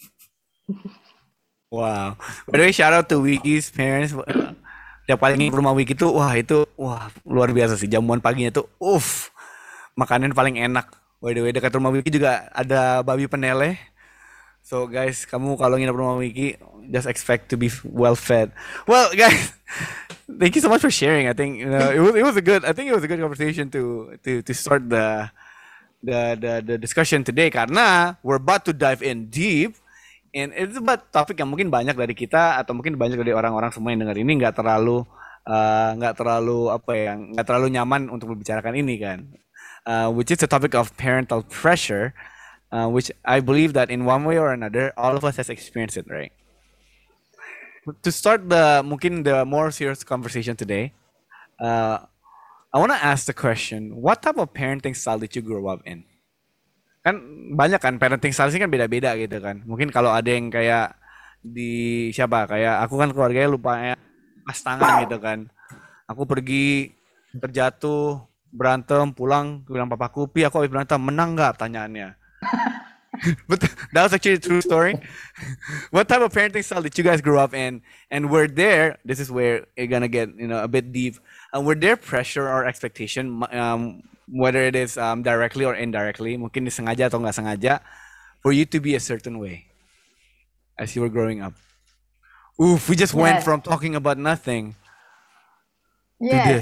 Wow. By the way, shout out to Wiki's parents. Tiap kali ke rumah Wiki tuh, wah itu, wah luar biasa sih. Jamuan paginya tuh, uff, makanan paling enak. By the way, dekat rumah Wiki juga ada babi peneleh. So guys, kamu kalau nginep rumah Wiki, just expect to be well fed. Well, guys, thank you so much for sharing. I think you know, it was it was a good. I think it was a good conversation to to to start the the the, the discussion today. Karena we're about to dive in deep. And it's about topik yang mungkin banyak dari kita atau mungkin banyak dari orang-orang semua yang dengar ini nggak terlalu nggak uh, terlalu apa ya nggak terlalu nyaman untuk membicarakan ini kan, uh, which is the topic of parental pressure, uh, which I believe that in one way or another all of us has experienced it, right? To start the mungkin the more serious conversation today, uh, I want to ask the question: what type of parenting style did you grow up in? Kan banyak kan parenting style sih kan beda-beda gitu kan. Mungkin kalau ada yang kayak di siapa kayak aku kan keluarganya lupa ya pas tangan gitu kan. Aku pergi terjatuh berantem pulang bilang papaku, "Pi, aku habis berantem, menang nggak?" Pertanyaannya. But that was actually a true story. What type of parenting style did you guys grow up in? And were there, this is where you're gonna get you know a bit deep. And were there pressure or expectation, um, whether it is um, directly or indirectly, mungkin disengaja atau nggak sengaja, for you to be a certain way as you were growing up? Oof, we just yes. went from talking about nothing yes. to this.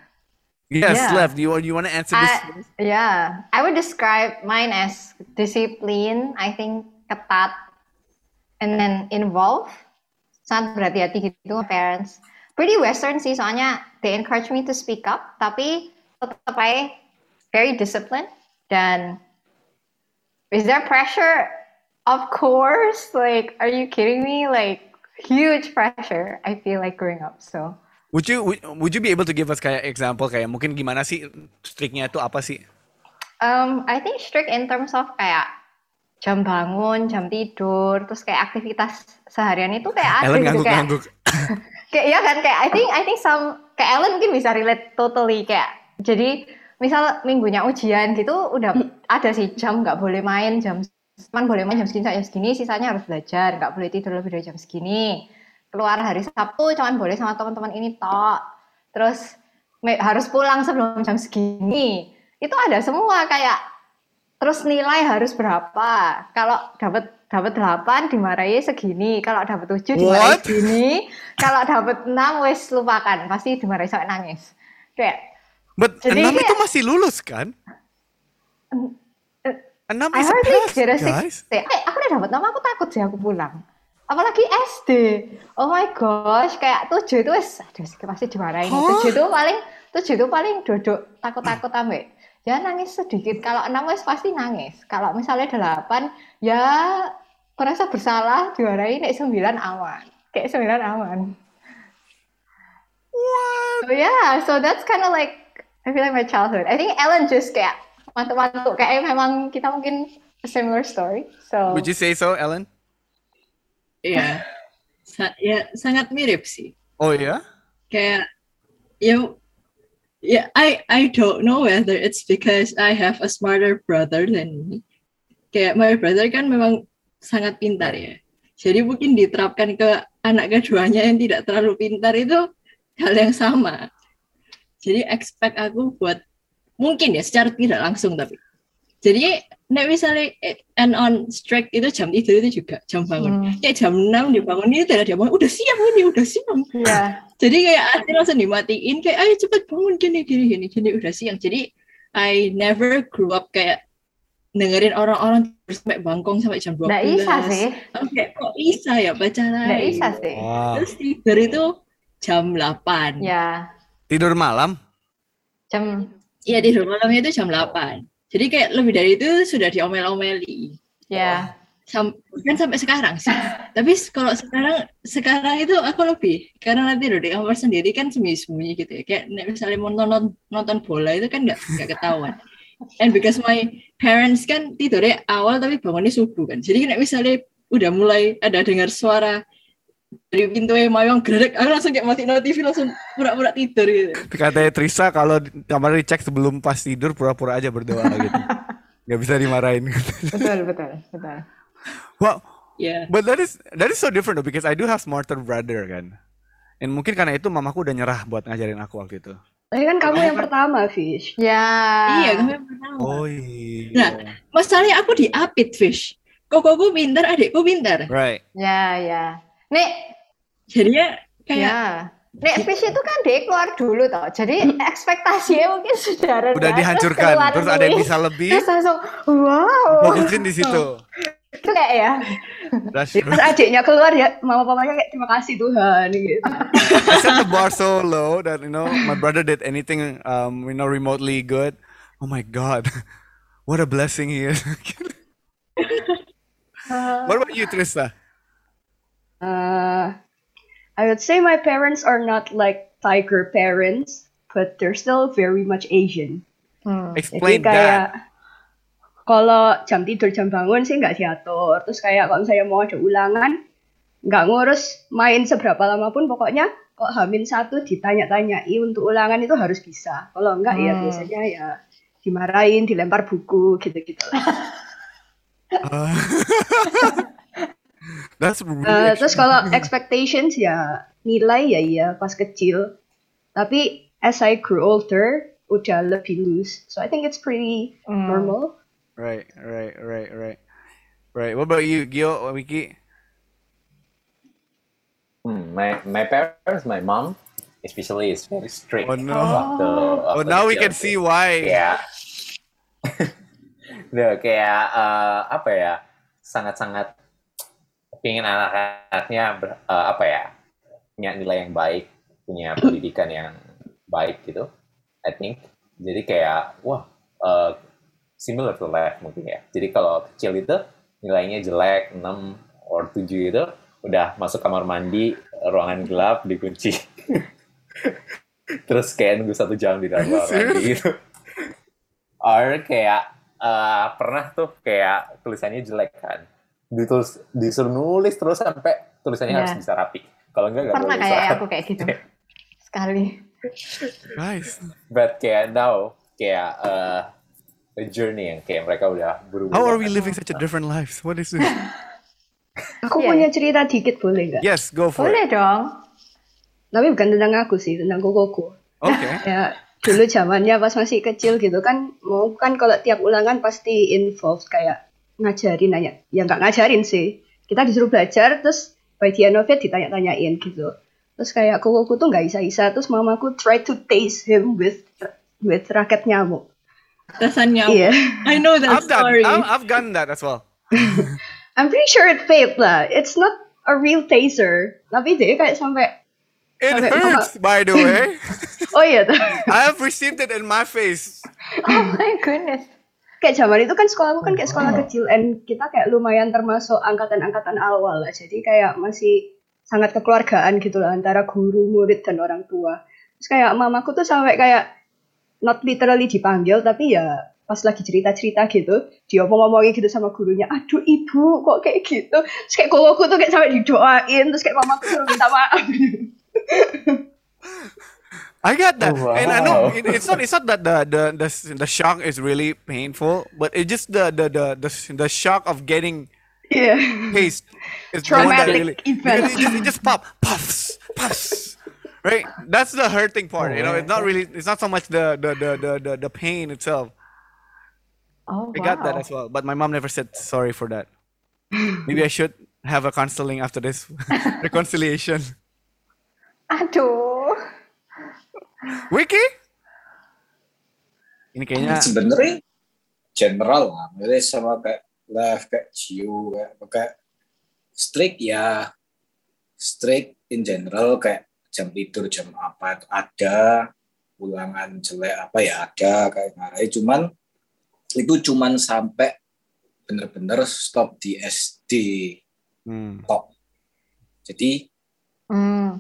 Yes, yeah. Lev, do you, you want to answer this? I, yeah, I would describe mine as discipline, I think ketat, and then involve, sangat berhati-hati gitu parents. Pretty Western sih, soalnya they encourage me to speak up, tapi tetap aja very disciplined. Dan is there pressure? Of course. Like, are you kidding me? Like, huge pressure. I feel like growing up. So. Would you would, would you be able to give us kayak example kayak mungkin gimana sih strictnya itu apa sih? Um, I think strict in terms of kayak jam bangun, jam tidur, terus kayak aktivitas seharian itu kayak ada Ellen gitu kayak. Ngangguk. Kayak ya kan kayak I think I think some kayak Ellen mungkin bisa relate totally kayak jadi misal minggunya ujian gitu udah ada sih jam nggak boleh main jam cuman boleh main jam segini jam segini sisanya harus belajar nggak boleh tidur lebih dari jam segini keluar hari Sabtu cuman boleh sama teman-teman ini tok terus me- harus pulang sebelum jam segini itu ada semua kayak terus nilai harus berapa kalau dapat dapat delapan dimarahi segini, kalau dapat tujuh dimarahi segini, kalau dapat enam wes lupakan, pasti dimarahi sampai nangis. Kayak But enam kayak, itu masih lulus kan? enam is a pass, guys. Eh, aku udah dapat enam, aku takut sih aku pulang. Apalagi S D. Oh my gosh, kayak tujuh itu wes aduh pasti dimarahin. Huh? tujuh itu paling tujuh itu paling duduk takut-takut ambek. Ya nangis sedikit, kalau enam wes pasti nangis. Kalau misalnya delapan ya merasa bersalah diwarai nek sembilan aman kayak sembilan aman. What? So yeah, so that's kind of like I feel like my childhood. I think Ellen just kayak mantuk-mantuk kayak memang kita mungkin a similar story. So would you say so, Ellen? Iya, Sa- ya sangat mirip sih. Oh ya? Yeah? Kayak ya, yeah, I I don't know whether it's because I have a smarter brother than me. Kayak my brother kan memang sangat pintar ya. Jadi mungkin diterapkan ke anak keduanya yang tidak terlalu pintar itu hal yang sama. Jadi expect aku buat mungkin ya secara tidak langsung tapi. Jadi nek misalnya and on strict itu jam tidur itu juga jam bangun. Hmm. Kayak jam enam dibangun ini tidak dia bangun udah siap ini udah siap. Yeah. Jadi kayak hati langsung dimatiin kayak ayo cepat bangun gini gini gini gini udah siang. Jadi I never grew up kayak dengerin orang-orang tidur sampai bangkong sampai jam dua belas. Nggak bisa sih. Aku kayak kok bisa ya pacaran? Nggak bisa sih. Wow. Terus tidur itu jam delapan. Ya, Tidur malam? jam Iya tidur malamnya itu jam delapan. Jadi kayak lebih dari itu sudah diomel-omeli. ya. Sam kan sampai sekarang sih. Tapi kalau sekarang sekarang itu aku lebih karena nanti tidur di kamar sendiri kan sembunyi-sembunyi gitu ya. Kayak nek misalnya mau nonton nonton bola itu kan nggak nggak ketahuan. And because my parents kan tidurnya awal tapi bangunnya subuh kan. Jadi nek misalnya udah mulai ada dengar suara dari pintu mayong gerak, aku langsung kayak mati T V langsung pura-pura tidur gitu. Katanya Trisa kalau di- kamar dicek sebelum pas tidur pura-pura aja berdoa gitu. Gak bisa dimarahin. Betul, betul, betul. Wow, Ya. but that is that is so different though because I do have smarter brother kan. And mungkin karena itu mamaku udah nyerah buat ngajarin aku waktu itu. Tapi kan kamu yang pertama, Fish. Ya. Iya, kamu yang pertama. Oh iya. Nah, masalahnya aku diapit, Fish. Kokoku pintar, adikku pintar. Right. Ya, ya. Nek, Jadinya kayak ya. Nek Fish itu kan dia keluar dulu toh. Jadi ekspektasinya mungkin sudah rendah. Udah terus dihancurkan. keluar Terus ada yang Fish, bisa lebih. Terus langsung, wow. Fokusin di situ. Itu kayak ya. That's Terus adiknya keluar ya, mama papanya kayak terima kasih Tuhan gitu. I set the bar so low that you know my brother did anything um you know remotely good. Oh my God, what a blessing he is. What about you, Trista? Uh, I would say my parents are not like tiger parents, but they're still very much Asian. Hmm. Explain Jadi kayak that. kalau jam tidur jam bangun sih nggak diatur. Terus kayak kalau misalnya mau ada ulangan, nggak ngurus main seberapa lama pun pokoknya kok hamin satu ditanya-tanyai untuk ulangan itu harus bisa. Kalau enggak ya Hmm. biasanya ya dimarahin, dilempar buku gitu-gitu lah. Uh, that's really Eh, terus kalau expectations ya nilai ya iya pas kecil. Tapi as I grew older udah lebih loose. So I think it's pretty Hmm. normal. right, right, right, right, right. What about you, Gio or Wiki? Hmm, my my parents, my mom, especially is very strict. Oh, no. Waktu, Oh, waktu now we kecil can tuh. see why. Kayak, Duh, kayak eh, apa ya, sangat-sangat pengen anak-anaknya ber- eh, apa ya, punya nilai yang baik, punya pendidikan yang baik gitu, I think. Jadi kayak, wah, eh, similar to life mungkin ya. Jadi kalau kecil itu nilainya jelek, enam or tujuh itu, udah masuk kamar mandi, ruangan gelap, dikunci. Terus kayak nunggu satu jam di dalam kamar mandi gitu. Or kayak eh, pernah tuh kayak tulisannya jelek kan. Ditulis, disuruh nulis terus sampai tulisannya Iya. harus bisa rapi. Kalau enggak nggak Pernah boleh kayak bisa. aku kayak gitu. Sekali. Guys, But kayak now kayak eh, a journey yang kayak mereka udah berubah. how are we living such a different lives? What is this? Aku Iya. punya cerita dikit boleh nggak? Yes, go for Boleh it. dong. Tapi bukan tentang aku sih, tentang kokoku. Okay. Ya dulu zamannya pas masih kecil gitu kan, mau kan kalau tiap ulangan pasti involved kayak ngajarin nanya. Ya nggak ngajarin sih. Kita disuruh belajar terus by the end of it ditanya-tanyain gitu. Terus kayak kokoku tuh nggak isa-isa, terus mamaku try to taste him with with raket nyamuk. Rasanya. Iya. I know that I've done. story. I've, I've gotten that as well. I'm pretty sure it failed lah. It's not a real taser. Tapi dia kayak sampai, It Okay, hurts, by the way. oh iya tuh. I have received it in my face. Oh my goodness. Kayak zaman itu kan sekolahku kan kayak sekolah kecil, and kita kayak lumayan termasuk angkatan-angkatan awal lah. Jadi kayak masih sangat kekeluargaan gitu lah antara guru, murid, dan orang tua. Terus kayak mamaku tuh sampai kayak not literally dipanggil, tapi ya pas lagi cerita-cerita gitu, dia ngomong-ngomongin gitu sama gurunya, aduh ibu kok kayak gitu. Terus kayak kokoku tuh kayak sampai didoain, terus kayak mamaku suruh minta maaf. I got that, Oh, and I know wow. it, it's not. It's not that the, the the the shock is really painful, but it's just the the the the, the shock of getting Iya. taste is the one that Traumatic really event. because it just, it just pop puffs puffs, right? That's the hurting part. You know, it's not really. It's not so much the the the the the, the pain itself. Oh I got that wow. as well, but my mom never said sorry for that. Maybe I should have a counseling after this reconciliation. Aduh. Wiki? Ini kayaknya Sebenarnya general lah, maksudnya sama kayak left, kayak Gio, kayak kayak strict ya, strict in general kayak jam tidur jam apa itu ada, ulangan jelek apa ya ada kayak ngarai, cuman itu cuman sampai bener-bener stop di S D Hmm. tok. Jadi Hmm.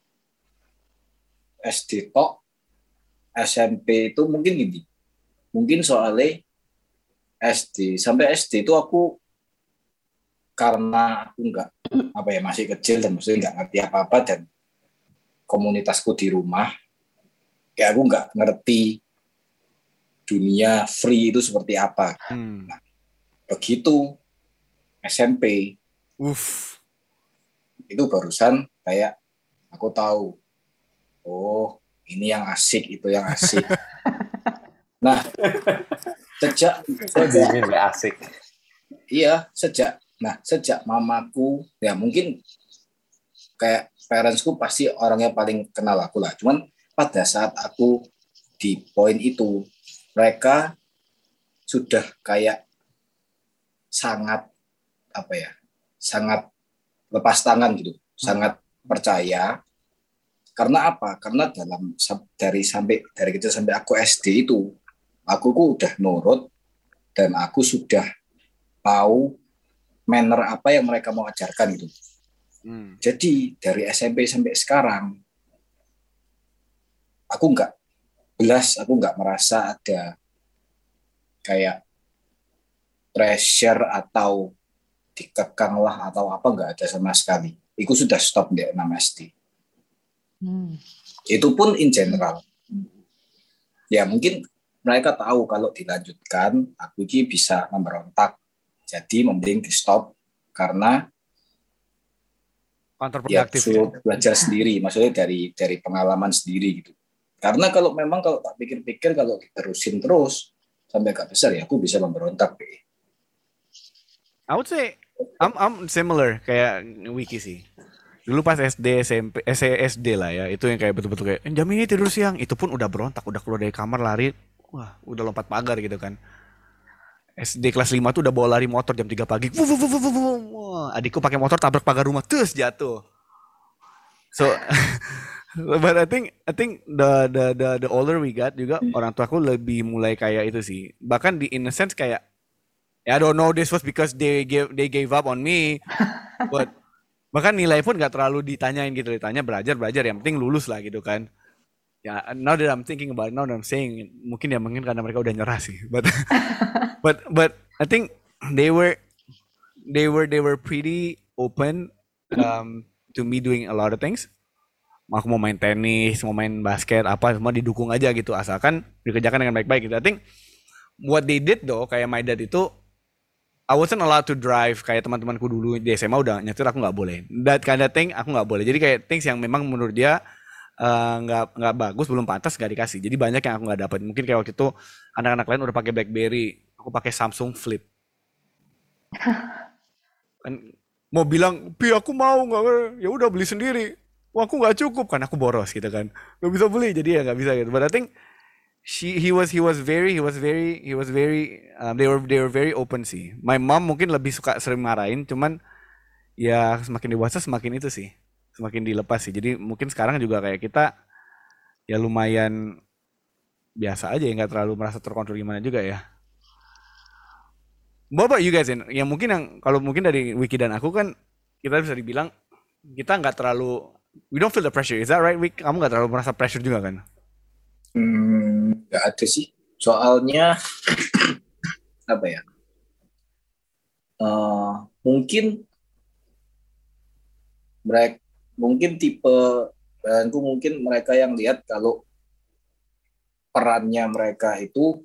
S D tok, S M P itu mungkin gini, mungkin soalnya S D sampai S D itu aku karena aku nggak apa ya masih kecil dan maksudnya nggak ngerti apa-apa dan komunitasku di rumah, kayak aku nggak ngerti dunia free itu seperti apa. Hmm. Nah, begitu S M P Uff. itu barusan kayak aku tahu, oh ini yang asik, itu yang asik. Nah, sejak Kok dimin gak asik? iya sejak nah sejak mamaku ya mungkin kayak parentsku pasti orangnya paling kenal aku lah, cuman pada saat aku di poin itu mereka sudah kayak sangat apa ya sangat lepas tangan gitu, sangat percaya. Karena apa? Karena dalam dari sampai dari kecil sampai aku S D itu aku kok udah nurut dan aku sudah tahu manner apa yang mereka mau ajarkan gitu. Hmm. Jadi dari S M P sampai sekarang aku nggak belas, aku nggak merasa ada kayak pressure atau dikekang lah atau apa, nggak ada sama sekali. Itu sudah stop di enam S D. Hmm. Itu pun in general. Ya mungkin mereka tahu kalau dilanjutkan aku ini bisa memberontak. Jadi mending di stop karena ya Counterproductive. suruh belajar sendiri, maksudnya dari dari pengalaman sendiri gitu. Karena kalau memang kalau tak pikir-pikir kalau diterusin terus sampai gak besar ya aku bisa memberontak. I would say I'm I'm similar kayak Wiki sih. Dulu pas S D, S M P, S S D lah ya, itu yang kayak betul-betul kayak jam ini tidur siang, itu pun udah berontak, udah keluar dari kamar lari, wah udah lompat pagar gitu kan. S D kelas lima tuh udah bawa lari motor jam tiga pagi. Wuh, wuh, wuh, wuh, wuh, wuh. Wah, adikku pakai motor tabrak pagar rumah, terus jatuh. So, but I think I think the the the the older we got juga orang tuaku lebih mulai kayak itu sih. Bahkan di in a sense kayak I don't know this was because they gave they gave up on me, but bahkan nilai pun gak terlalu ditanyain gitu, ditanya belajar belajar yang penting lulus lah gitu kan. Ya, now that I'm thinking about it, now that I'm saying, mungkin ya mungkin karena mereka udah nyerah sih. But but but I think they were they were they were pretty open um, to me doing a lot of things. Aku mau main tenis, mau main basket, apa semua didukung aja gitu, asalkan dikerjakan dengan baik-baik gitu. I think what they did though, kayak my dad itu, I wasn't allowed to drive kayak teman-temanku dulu di S M A udah nyetir, aku nggak boleh. That kind of thing aku nggak boleh. Jadi kayak things yang memang menurut dia uh, nggak nggak bagus, belum pantas nggak dikasih. Jadi banyak yang aku nggak dapat. Mungkin kayak waktu itu anak-anak lain udah pakai BlackBerry, aku pakai Samsung Flip. Kan mau bilang, pi aku mau nggak, ya udah beli sendiri. Wah aku nggak cukup kan, aku boros gitu kan, nggak bisa beli, jadi ya nggak bisa gitu. But I think she he was he was very he was very he was very um, they were they were very open sih. My mom mungkin lebih suka sering marahin, cuman ya semakin dewasa semakin itu sih, semakin dilepas sih. Jadi mungkin sekarang juga kayak kita ya lumayan biasa aja ya, nggak terlalu merasa terkontrol gimana juga ya. What about you guys? Yang mungkin yang kalau mungkin dari Wiki dan aku kan kita bisa dibilang kita nggak terlalu, we don't feel the pressure. Is that right, Wiki? Kamu nggak terlalu merasa pressure juga kan? Hmm, nggak ada sih. Soalnya apa ya? Uh, mungkin mereka mungkin tipe aku mungkin mereka yang lihat kalau perannya mereka itu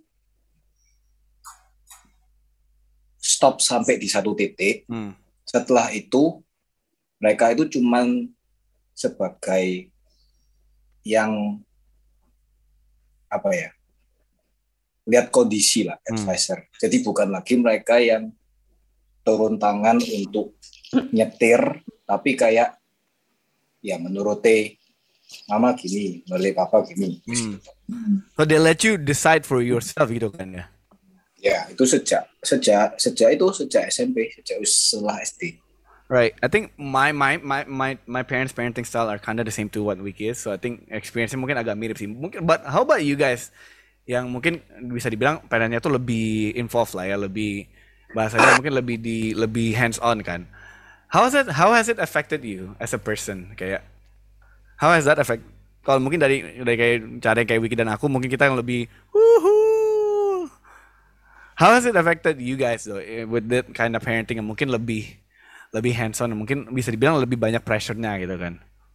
stop sampai di satu titik. Hmm. Setelah itu mereka itu cuman sebagai yang apa ya, lihat kondisi lah, advisor. Hmm. Jadi bukan lagi mereka yang turun tangan untuk nyetir, tapi kayak ya menuruti mama gini, menuruti papa gini. Hmm. So they let you decide for yourself gitu kan ya? Ya, itu sejak sejak sejak itu sejak S M P, sejak setelah S D. Right. I think my my my my my parents' parenting style are kind of the same to what Wiki is. So I think experience-nya mungkin agak mirip sih. Mungkin, but how about you guys? Yang mungkin bisa dibilang parentnya tuh lebih involved lah ya, lebih bahasanya mungkin lebih di lebih hands on kan. How has it how has it affected you as a person? Kayak how has that affect? Kalau mungkin dari dari kayak cara kayak Wiki dan aku, mungkin kita yang lebih woohoo. How has it affected you guys though with that kind of parenting yang mungkin lebih lebih hands on, mungkin bisa dibilang lebih banyak pressure-nya gitu kan.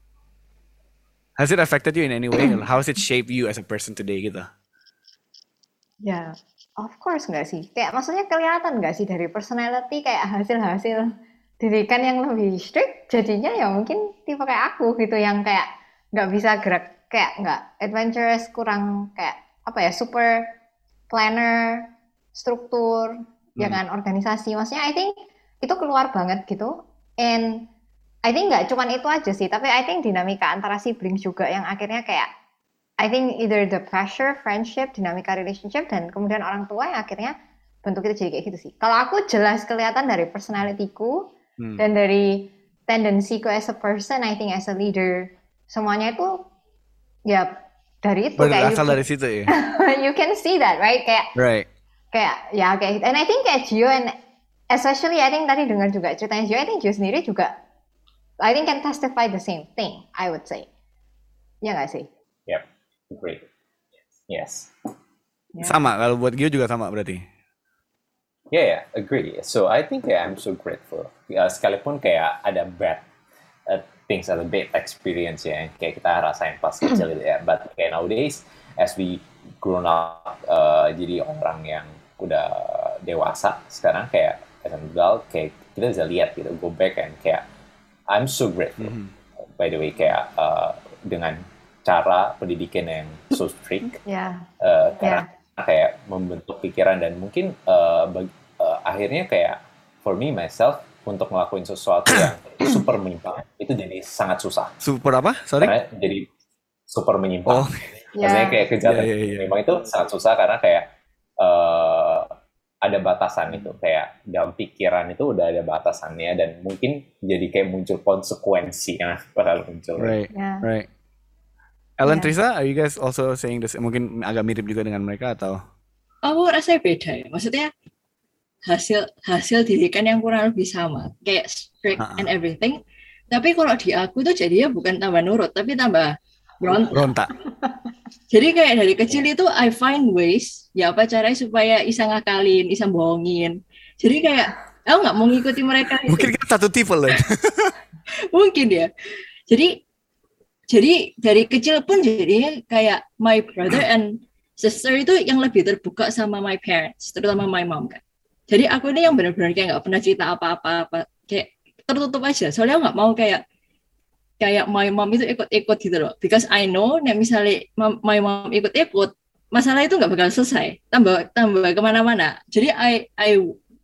Has it affected you in any way? How has it shaped you as a person today gitu? Ya, of course nggak sih. Kayak maksudnya kelihatan nggak sih dari personality kayak hasil-hasil didikan yang lebih strict, jadinya ya mungkin tipe kayak aku gitu yang kayak nggak bisa gerak, kayak nggak adventurous, kurang kayak apa ya, super planner, struktur, hmm. jangan organisasi. Maksudnya I think itu keluar banget gitu. And I think nggak cuman itu aja sih, tapi I think dinamika antara siblings juga yang akhirnya kayak I think either the pressure, friendship, dinamika relationship, dan kemudian orang tua yang akhirnya bentuk itu jadi kayak gitu sih. Kalau aku jelas kelihatan dari personality-ku hmm. dan dari tendensiku as a person, I think as a leader, semuanya itu ya dari itu. Berasal dari situ ya. You can see that, right? Kayak, right. Kayak ya kayak, and I think kayak Gio and especially I think tadi dengar juga ceritanya Gio, I think Gio sendiri juga I think can testify the same thing, I would say. Ya nggak sih? Yep, great. Yes. Yeah. Sama, kalau buat Gio juga sama berarti. Yeah, yeah, agree. So I think yeah, I'm so grateful. Uh, sekalipun kayak ada bad uh, things, ada bad experience ya, kayak kita rasain pas kecil gitu ya. But kayak nowadays, as we grown up, uh, jadi orang yang udah dewasa sekarang kayak as an adult, kayak kita bisa lihat gitu, go back and kayak I'm so grateful. Mm-hmm. By the way, kayak uh, dengan cara pendidikan yang so strict, yeah. uh, karena yeah. kayak membentuk pikiran dan mungkin uh, bag, uh, akhirnya kayak for me myself untuk ngelakuin sesuatu yang super menyimpang itu jadi sangat susah. Super apa? Sorry. Karena jadi super menyimpang. Oh. Maksudnya kayak kejahatan yeah, yeah, yeah. memang itu sangat susah karena kayak uh, ada batasan itu, kayak dalam pikiran itu udah ada batasannya dan mungkin jadi kayak muncul konsekuensi yang bakal muncul. Right, yeah. right. Ellen, yeah. Trisa, are you guys also saying this? Mungkin agak mirip juga dengan mereka atau? Aku rasanya beda ya. Maksudnya hasil hasil didikan yang kurang lebih sama, kayak strict uh-uh. and everything. Tapi kalau di aku tuh jadinya bukan tambah nurut, tapi tambah berontak. Berontak. Jadi kayak dari kecil itu I find ways, ya apa caranya supaya Isa ngakalin, Isa bohongin. Jadi kayak aku nggak mau ngikuti mereka. Mungkin kita satu tipe lah. Mungkin ya. Jadi jadi dari kecil pun jadinya kayak my brother and sister itu yang lebih terbuka sama my parents, terutama my mom kan. Jadi aku ini yang benar-benar kayak nggak pernah cerita apa-apa, kayak tertutup aja. Soalnya aku nggak mau kayak kayak my mom itu ikut-ikut gitu loh. Because I know, nah misalnya my mom ikut-ikut, masalah itu nggak bakal selesai. Tambah tambah kemana-mana. Jadi I I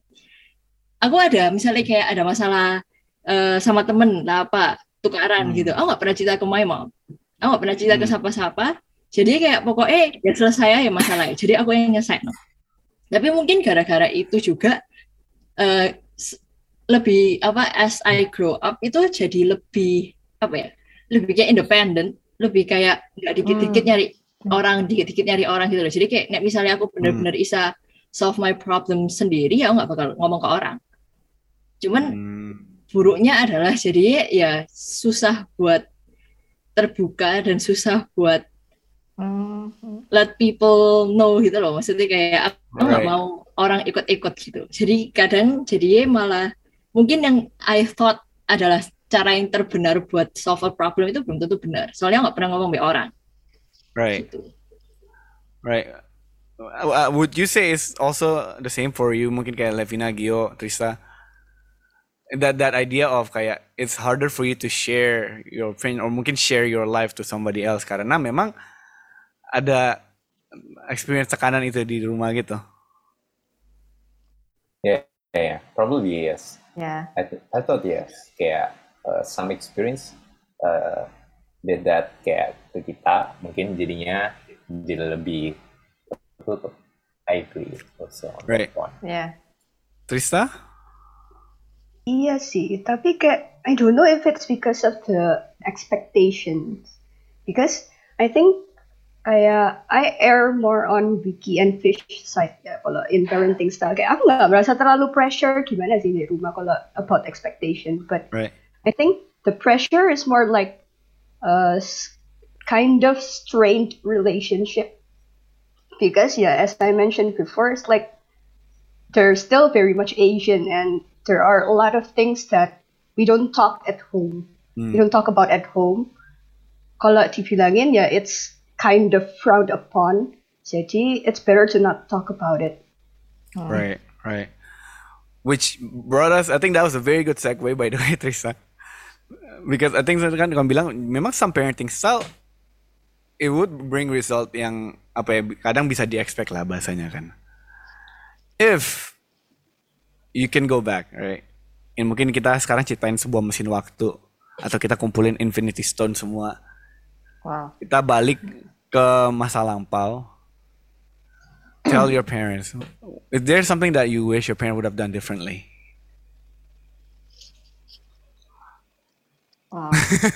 aku ada misalnya kayak ada masalah uh, sama temen lah apa tukaran hmm. gitu. Aku nggak pernah cerita ke my mom. Aku nggak pernah cerita hmm. ke siapa-siapa. Jadi kayak pokoknya ya selesai ya masalahnya. Jadi aku yang nyelesain. No. Tapi mungkin gara-gara itu juga uh, lebih apa as I grow up itu jadi lebih apa ya, lebih kayak independen, lebih kayak nggak dikit-dikit nyari hmm. orang, dikit-dikit nyari orang gitu loh. Jadi kayak misalnya aku benar-benar hmm. bisa solve my problem sendiri, ya aku nggak bakal ngomong ke orang. Cuman hmm. buruknya adalah jadi ya susah buat terbuka dan susah buat hmm. let people know gitu loh. Maksudnya kayak aku nggak right. mau orang ikut-ikut gitu. Jadi kadang jadi malah mungkin yang I thought adalah cara yang terbenar buat solve a problem itu belum tentu benar. Soalnya nggak pernah ngomong sama orang. Right. Gitu. Right. Uh, would you say it's also the same for you? Mungkin kayak Levina, Gio, Trista. That that idea of kayak it's harder for you to share your friend or mungkin share your life to somebody else karena memang ada experience tekanan itu di rumah gitu. Yeah, yeah, probably yes. Yeah. I th- I thought yes. Kayak Uh, some experience uh, did that kayak ke kita mungkin jadinya jadi lebih tutup. I agree also on Right. that one. Yeah. Trista? Iya sih, tapi kayak I don't know if it's because of the expectations. Because I think kayak I err more on Vicky and Fish side ya kalau in parenting style. Kayak aku nggak merasa terlalu pressure gimana sih di rumah kalau about expectation. But Right. I think the pressure is more like a s- kind of strained relationship. Because yeah, as I mentioned before, it's like they're still very much Asian and there are a lot of things that we don't talk at home. We don't talk about at home. Kalau dibilangin ya it's kind of frowned upon. Jadi it's better to not talk about it. Right, right. Which brought us, I think that was a very good segue by the way, Trista. Because I think kan kamu bilang memang some parenting style it would bring result yang apa ya kadang bisa di-expect lah bahasanya kan. If you can go back, right? And mungkin kita sekarang ciptain sebuah mesin waktu atau kita kumpulin Infinity Stone semua. Wow. Kita balik ke masa lampau. Tell your parents, is there something that you wish your parent would have done differently? Wow.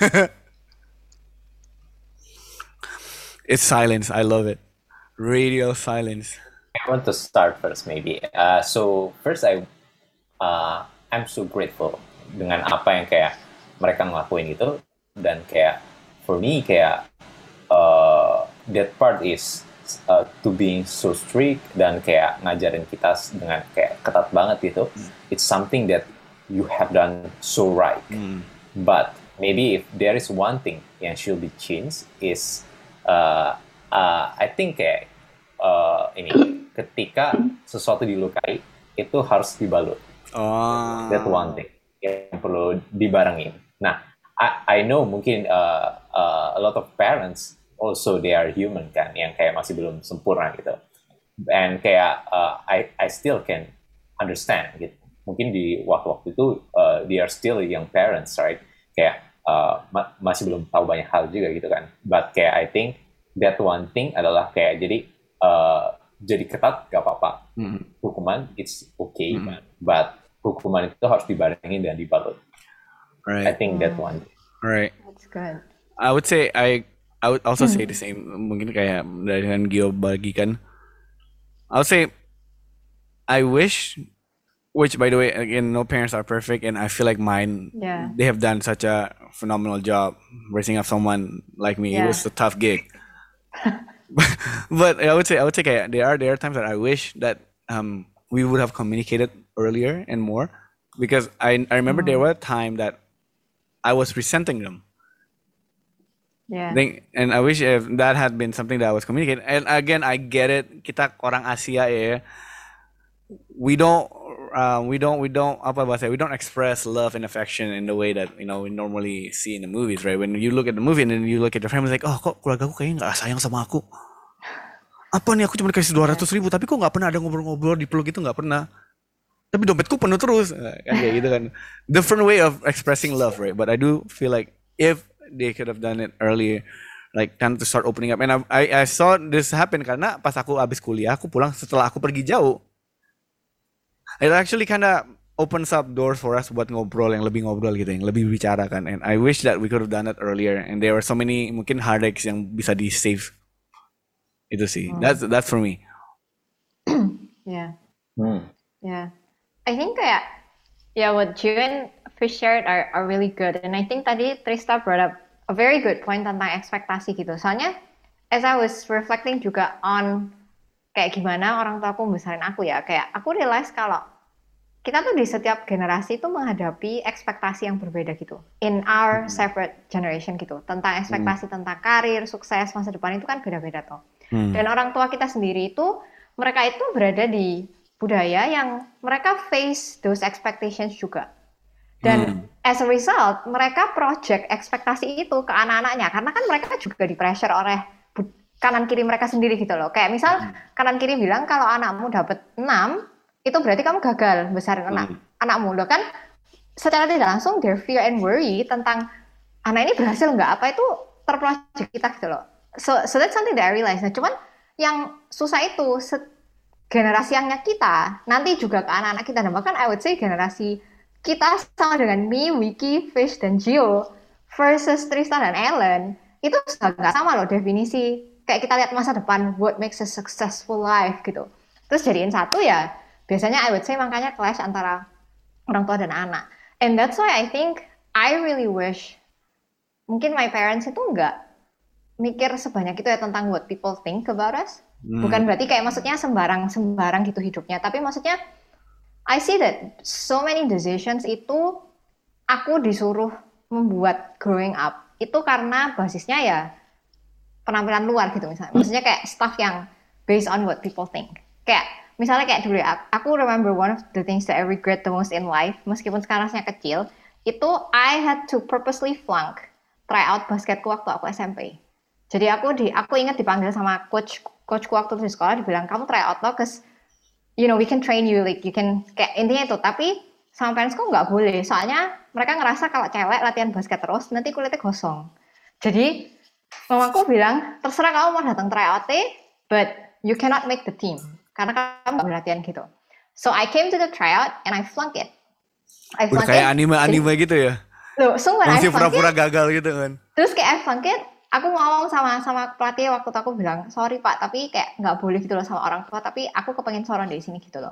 It's silence. I love it. Radio silence. I want to start first maybe. Uh, so first I uh, I'm so grateful dengan apa yang kayak mereka ngelakuin itu dan kayak for me kayak uh, that part is uh, to being so strict dan kayak ngajarin kita dengan kayak ketat banget gitu. It's something that you have done so right. But maybe if there is one thing yang should be changed is uh, uh, I think kayak uh, ini ketika sesuatu dilukai itu harus dibalut. Oh. That one thing yang perlu dibarengin. Nah, I, I know mungkin uh, uh, a lot of parents also they are human kan, yang kayak masih belum sempurna gitu. And kayak uh, I I still can understand gitu. Mungkin di waktu-waktu itu uh, they are still young parents, right? Kayak uh, ma- masih belum tahu banyak hal juga gitu kan. But kayak I think that one thing adalah kayak jadi uh, jadi ketat gak apa-apa. Mm-hmm. Hukuman it's okay, Mm-hmm. but hukuman itu harus dibarengin dan dibalut. I Right. think that one. Right. That's good. I would say I I would also say the same. Mungkin kayak dengan Gio bagikan. I would say I wish, which by the way again no parents are perfect, and I feel like mine Yeah. they have done such a phenomenal job raising up someone like me. It Yeah. was a tough gig. But I would say I would say kayak there are there are times that I wish that um we would have communicated earlier and more because I I remember there was a time that I was resenting them. Yeah. Think, and I wish if that had been something that was communicated. And again, I get it. Kita orang Asia ya. We don't, uh, we don't, we don't. Apa bahasa? We don't express love and affection in the way that you know we normally see in the movies, right? When you look at the movie and then you look at your family, like, oh, kok keluarga aku kayaknya nggak sayang sama aku. Apa nih? Aku cuma dikasih dua ratus ribu, tapi kok nggak pernah ada ngobrol-ngobrol dipeluk itu nggak pernah. Tapi dompetku penuh terus, kan kayak gitu kan. Different way of expressing love, right? But I do feel like if they could have done it earlier, like kind of to start opening up. And I, I, I saw this happen karena pas aku abis kuliah, aku pulang setelah aku pergi jauh. It actually kind of opens up doors for us buat ngobrol yang lebih ngobrol gitu, yang lebih bicara kan. And I wish that we could have done it earlier. And there were so many mungkin heartaches yang bisa di save. Itu sih. That's that's for me. Yeah. Hmm. Yeah. I think kayak yeah, what Gio and Fish shared are, are really good. And I think tadi Trista brought up a very good point tentang ekspektasi gitu. Soalnya as I was reflecting juga on kayak gimana orang tua aku membesarin aku ya, kayak aku realize kalau kita tuh di setiap generasi tuh menghadapi ekspektasi yang berbeda gitu. In our separate generation gitu. Tentang ekspektasi tentang karir, sukses, masa depan itu kan beda-beda tuh. Hmm. Dan orang tua kita sendiri itu, mereka itu berada di budaya yang mereka face those expectations juga. Dan as a result, mereka project ekspektasi itu ke anak-anaknya. Karena kan mereka juga di pressure oleh bu- kanan kiri mereka sendiri gitu loh. Kayak misal kanan kiri bilang kalau anakmu dapat enam, itu berarti kamu gagal besarin anak anakmu. Loh kan secara tidak langsung their fear and worry tentang anak ini berhasil nggak, apa itu terproject kita gitu loh. So, so that's something that I realize. Nah, cuman yang susah itu, se- generasi yangnya kita nanti juga ke anak-anak kita, dan bahkan I would say generasi kita sama dengan me, Wiki, Fish, dan Gio versus Tristan dan Ellen itu sudah nggak sama loh definisi. Kayak kita lihat masa depan, what makes a successful life gitu. Terus jadiin satu ya, biasanya I would say makanya clash antara orang tua dan anak. And that's why I think I really wish mungkin my parents itu nggak mikir sebanyak itu ya tentang what people think about us. Hmm. Bukan berarti kayak maksudnya sembarang-sembarang gitu hidupnya, tapi maksudnya I see that so many decisions itu aku disuruh membuat growing up itu karena basisnya ya penampilan luar gitu misalnya. Maksudnya kayak stuff yang based on what people think. Kayak misalnya kayak dulu ya, aku remember one of the things that I regret the most in life, meskipun sekarang saya kecil, itu I had to purposely flunk try out basketku waktu aku S M P. Jadi aku di aku ingat dipanggil sama coach coachku waktu di sekolah, dibilang kamu try out loh, cause you know we can train you, like you can kayak intinya itu. Tapi sama parents kok nggak boleh, soalnya mereka ngerasa kalau cewek latihan basket terus nanti kulitnya gosong. Jadi mamaku bilang terserah kamu mau datang try out, but you cannot make the team karena kamu nggak latihan gitu. So I came to the tryout and I flunked it. I Udah kayak anime-anime gitu ya? Loh, so when I masih flunked pura-pura it, gagal gitu kan? Terus kayak I flunked it, aku ngomong sama sama pelatih waktu itu, aku bilang sorry pak, tapi kayak nggak boleh gitu loh sama orang tua, tapi aku kepengen soron dari sini gitu loh.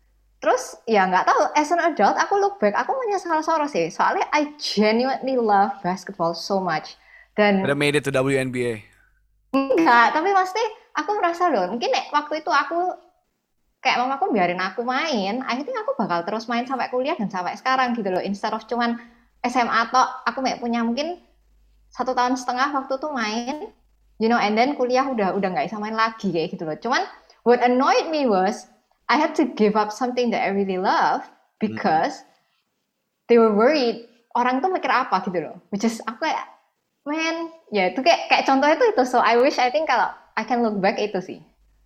Terus ya nggak tahu, as an adult aku look back, aku menyesal soron sih, soalnya I genuinely love basketball so much. Dan udah made it to W N B A. Enggak, tapi pasti aku merasa loh, mungkin nek, waktu itu aku kayak mamaku biarin aku main, I think aku bakal terus main sampai kuliah dan sampai sekarang gitu loh, instead of cuman S M A atau aku kayak punya mungkin satu tahun setengah waktu tuh main, you know, and then kuliah udah udah nggak bisa main lagi kayak gitu loh. Cuman what annoyed me was I had to give up something that I really love because hmm. they were worried orang tuh mikir apa gitu loh, which is aku kayak man, ya itu kayak kayak contohnya itu itu. So I wish I think kalau I can look back itu sih.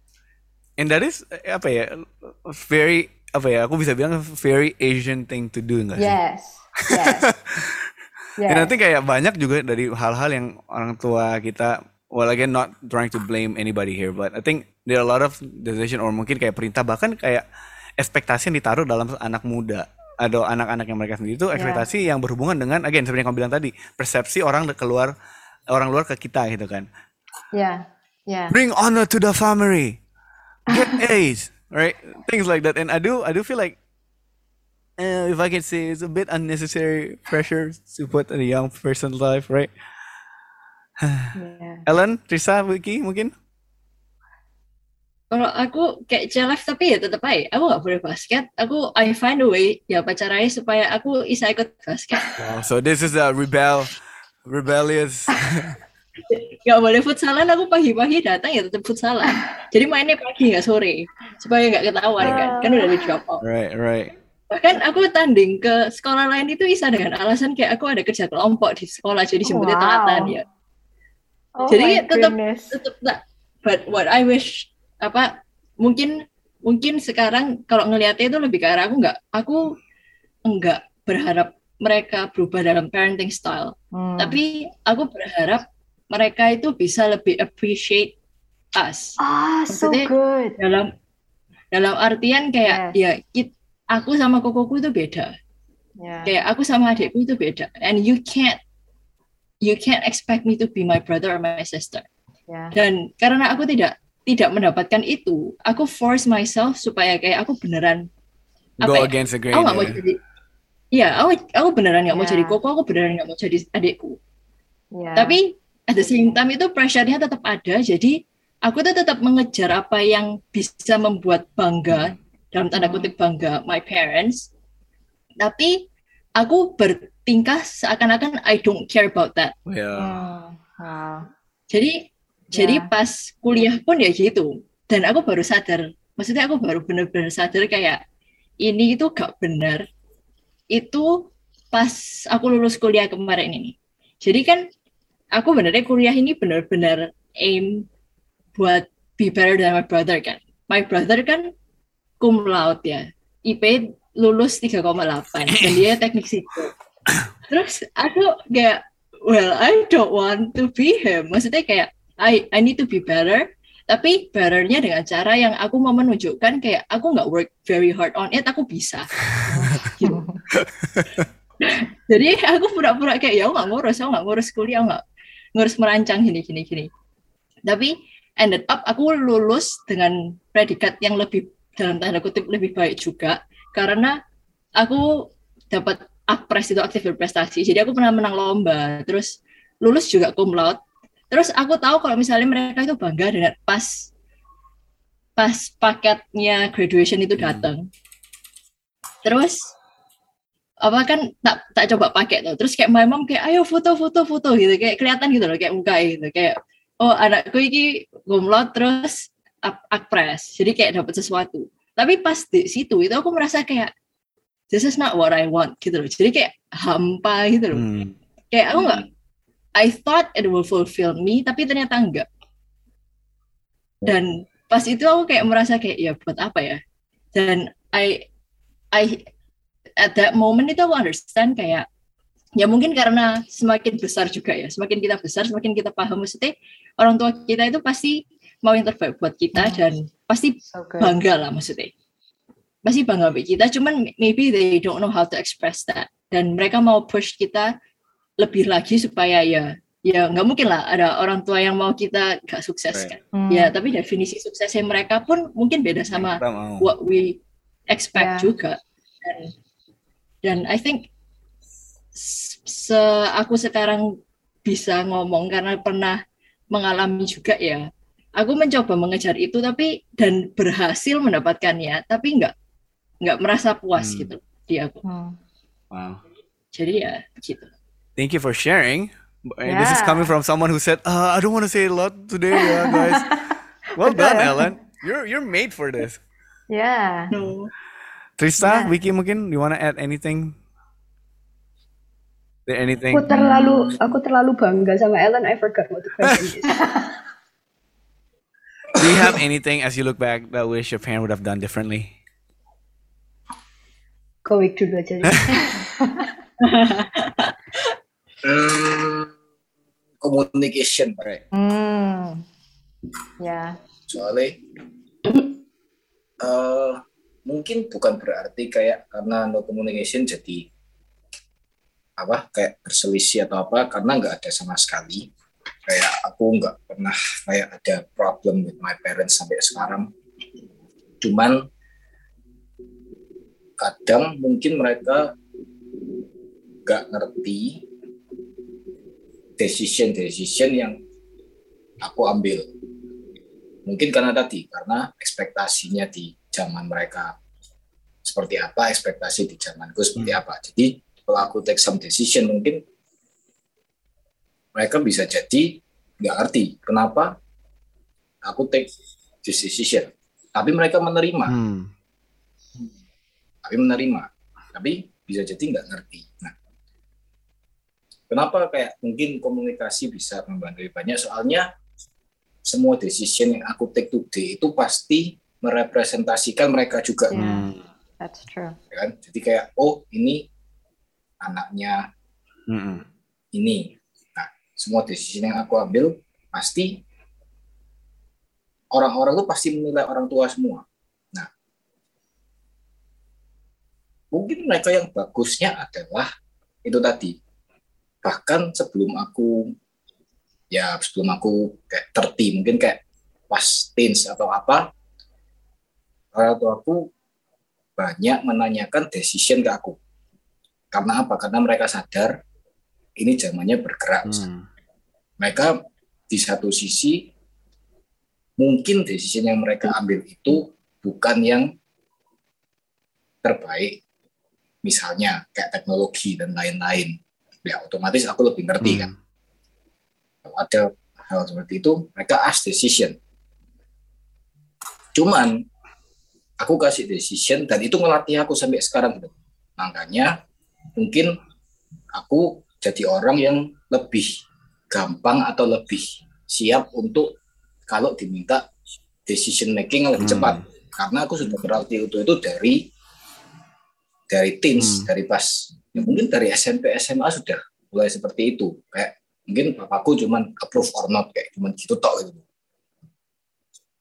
And that is apa ya, very apa ya, aku bisa bilang very Asian thing to do nggak sih? Yes, yes. yes. Dan nanti kayak banyak juga dari hal-hal yang orang tua kita, well again not trying to blame anybody here, but I think there are a lot of decision or mungkin kayak perintah, bahkan kayak ekspektasi yang ditaruh dalam anak muda atau anak-anak yang mereka sendiri itu ekspektasi yeah. yang berhubungan dengan again seperti yang kamu bilang tadi, persepsi orang keluar orang luar ke kita gitu kan. Yeah, yeah. Bring honor to the family, get A's, right? Things like that. And I do, I do feel like, uh, if I can say, it's a bit unnecessary pressure to put in a young person's life, right? yeah. Ellen, Trisa, Wiki, mungkin? Kalau aku kayak celef tapi ya tetap aja, aku gak boleh basket. Aku I find a way ya pacarnya supaya aku bisa ikut basket. Wow, so this is a rebel, rebellious. Gak boleh futsalan, aku pagi-pagi datang ya tetap futsalan. Jadi mainnya pagi gak sore, supaya gak ketahuan kan, kan udah di drop off. Right, right. Bahkan aku tanding ke sekolah lain itu bisa dengan alasan kayak aku ada kerja kelompok di sekolah, jadi jemputnya wow. telatan ya. Oh jadi tetap tetap tak. But what I wish apa mungkin mungkin sekarang kalau ngelihatnya itu lebih ke arah aku nggak aku enggak berharap mereka berubah dalam parenting style, hmm. tapi aku berharap mereka itu bisa lebih appreciate us. Ah, so good. Dalam dalam artian kayak yes. ya kita, aku sama kokoku itu beda, yeah. kayak aku sama adikku itu beda, and you can't you can't expect me to be my brother or my sister. Yeah. Dan karena aku tidak tidak mendapatkan itu, aku force myself supaya kayak aku beneran go apa against the grain. Aku nggak mau jadi, ya aku aku beneran nggak yeah. mau jadi koko, aku beneran nggak mau jadi adikku. Yeah. Tapi at the same time itu pressure-nya tetap ada, jadi aku tuh tetap mengejar apa yang bisa membuat bangga, dalam tanda kutip bangga, my parents. Tapi aku bertingkah seakan-akan I don't care about that. Yeah. Oh, wow. Jadi Jadi yeah. pas kuliah pun ya gitu. Dan aku baru sadar, maksudnya aku baru benar-benar sadar kayak ini itu gak benar. Itu pas aku lulus kuliah kemarin ini. Jadi kan aku benernya kuliah ini benar-benar aim buat be better than my brother kan. My brother kan cum laude ya. I P lulus tiga koma delapan dan dia teknik sipil. Terus aku kayak well I don't want to be him. Maksudnya kayak I I need to be better, Tapi betternya dengan cara yang aku mau menunjukkan kayak aku nggak work very hard on it, aku bisa. Gitu. Jadi aku pura-pura kayak ya aku nggak ngurus, aku nggak ngurus kuliah, aku nggak ngurus merancang gini gini gini. Tapi ended up aku lulus dengan predikat yang lebih dalam tanda kutip lebih baik juga karena aku dapat Akpres itu aktif berprestasi. Jadi aku pernah menang lomba, terus lulus juga cum laude. Terus aku tahu kalau misalnya mereka itu bangga dengan pas pas paketnya graduation itu datang. Terus apa kan tak tak coba pakai tuh. Terus kayak my mom kayak ayo foto-foto foto gitu, kayak kelihatan gitu loh kayak muka gitu kayak oh anakku ini cum laude terus Akpres. Jadi kayak dapat sesuatu. Tapi pas di situ itu aku merasa kayak this is not what I want gitu loh. Jadi kayak hampa gitu loh. Hmm. Kayak aku nggak, I thought it will fulfill me, tapi ternyata enggak. Dan pas itu aku kayak merasa kayak ya buat apa ya? Dan I, I at that moment itu aku understand kayak ya mungkin karena semakin besar juga ya, semakin kita besar, semakin kita paham maksudnya orang tua kita itu pasti mau yang terbaik buat kita dan pasti bangga lah maksudnya. Pasti bangga sama kita, cuman maybe they don't know how to express that. Dan mereka mau push kita lebih lagi supaya ya ya nggak mungkin lah ada orang tua yang mau kita nggak sukses kan. Hmm. Ya tapi definisi suksesnya mereka pun mungkin beda sama what we expect yeah. juga. Dan, dan I think se aku sekarang bisa ngomong karena pernah mengalami juga ya. Aku mencoba mengejar itu tapi dan berhasil mendapatkannya, tapi nggak nggak merasa puas hmm. gitu di aku. Hmm. Wow. Jadi ya gitu. Thank you for sharing. Yeah. This is coming from someone who said, uh, "I don't want to say a lot today, yeah, guys." Well done, Ellen. You're you're made for this. Yeah. No. Trista, yeah. Vicky, mungkin you wanna add anything? There anything? Aku terlalu aku terlalu bangga sama Ellen. I forgot what the question is. Do you have anything as you look back that wish your parent would have done differently? Kowik dulu aja. Hmm, communication, right? Hmm, ya. Yeah. Soalnya, uh, mungkin bukan berarti kayak karena no communication jadi apa kayak berselisih atau apa, karena nggak ada sama sekali. Kayak aku nggak pernah kayak ada problem with my parents sampai sekarang. Cuman kadang mungkin mereka nggak ngerti decision-decision yang aku ambil. Mungkin karena tadi, karena ekspektasinya di zaman mereka seperti apa, ekspektasi di zamanku seperti apa. Jadi kalau aku take some decision, mungkin mereka bisa jadi nggak ngerti kenapa aku take this decision. Tapi mereka menerima. Hmm. Tapi menerima. Tapi bisa jadi nggak ngerti. Nah, kenapa kayak mungkin komunikasi bisa membantu banyak, soalnya semua decision yang aku take today itu pasti merepresentasikan mereka juga. Yeah, that's true. Ya kan? Jadi kayak, oh ini anaknya mm-hmm. ini. Nah, semua decision yang aku ambil pasti orang-orang itu pasti menilai orang tua semua. Nah, mungkin mereka yang bagusnya adalah itu tadi. Bahkan sebelum aku ya sebelum aku kayak terti, mungkin kayak pas teens atau apa, orang tuaku banyak menanyakan decision ke aku. Karena apa? Karena mereka sadar ini zamannya bergerak. Hmm. Mereka di satu sisi mungkin decision yang mereka ambil itu bukan yang terbaik. Misalnya kayak teknologi dan lain-lain. Ya otomatis aku lebih ngerti hmm. kan. Kalau ada hal seperti itu, mereka ask decision. Cuman aku kasih decision dan itu ngelatih aku sampai sekarang. Makanya mungkin aku jadi orang yang lebih gampang atau lebih siap untuk kalau diminta decision making lebih hmm. cepat. Karena aku sudah berlatih itu itu dari dari teens, hmm. dari pas ya mungkin dari S M P S M A sudah mulai seperti itu. Kayak mungkin bapakku cuman approve or not kayak cuman gitu tok gitu.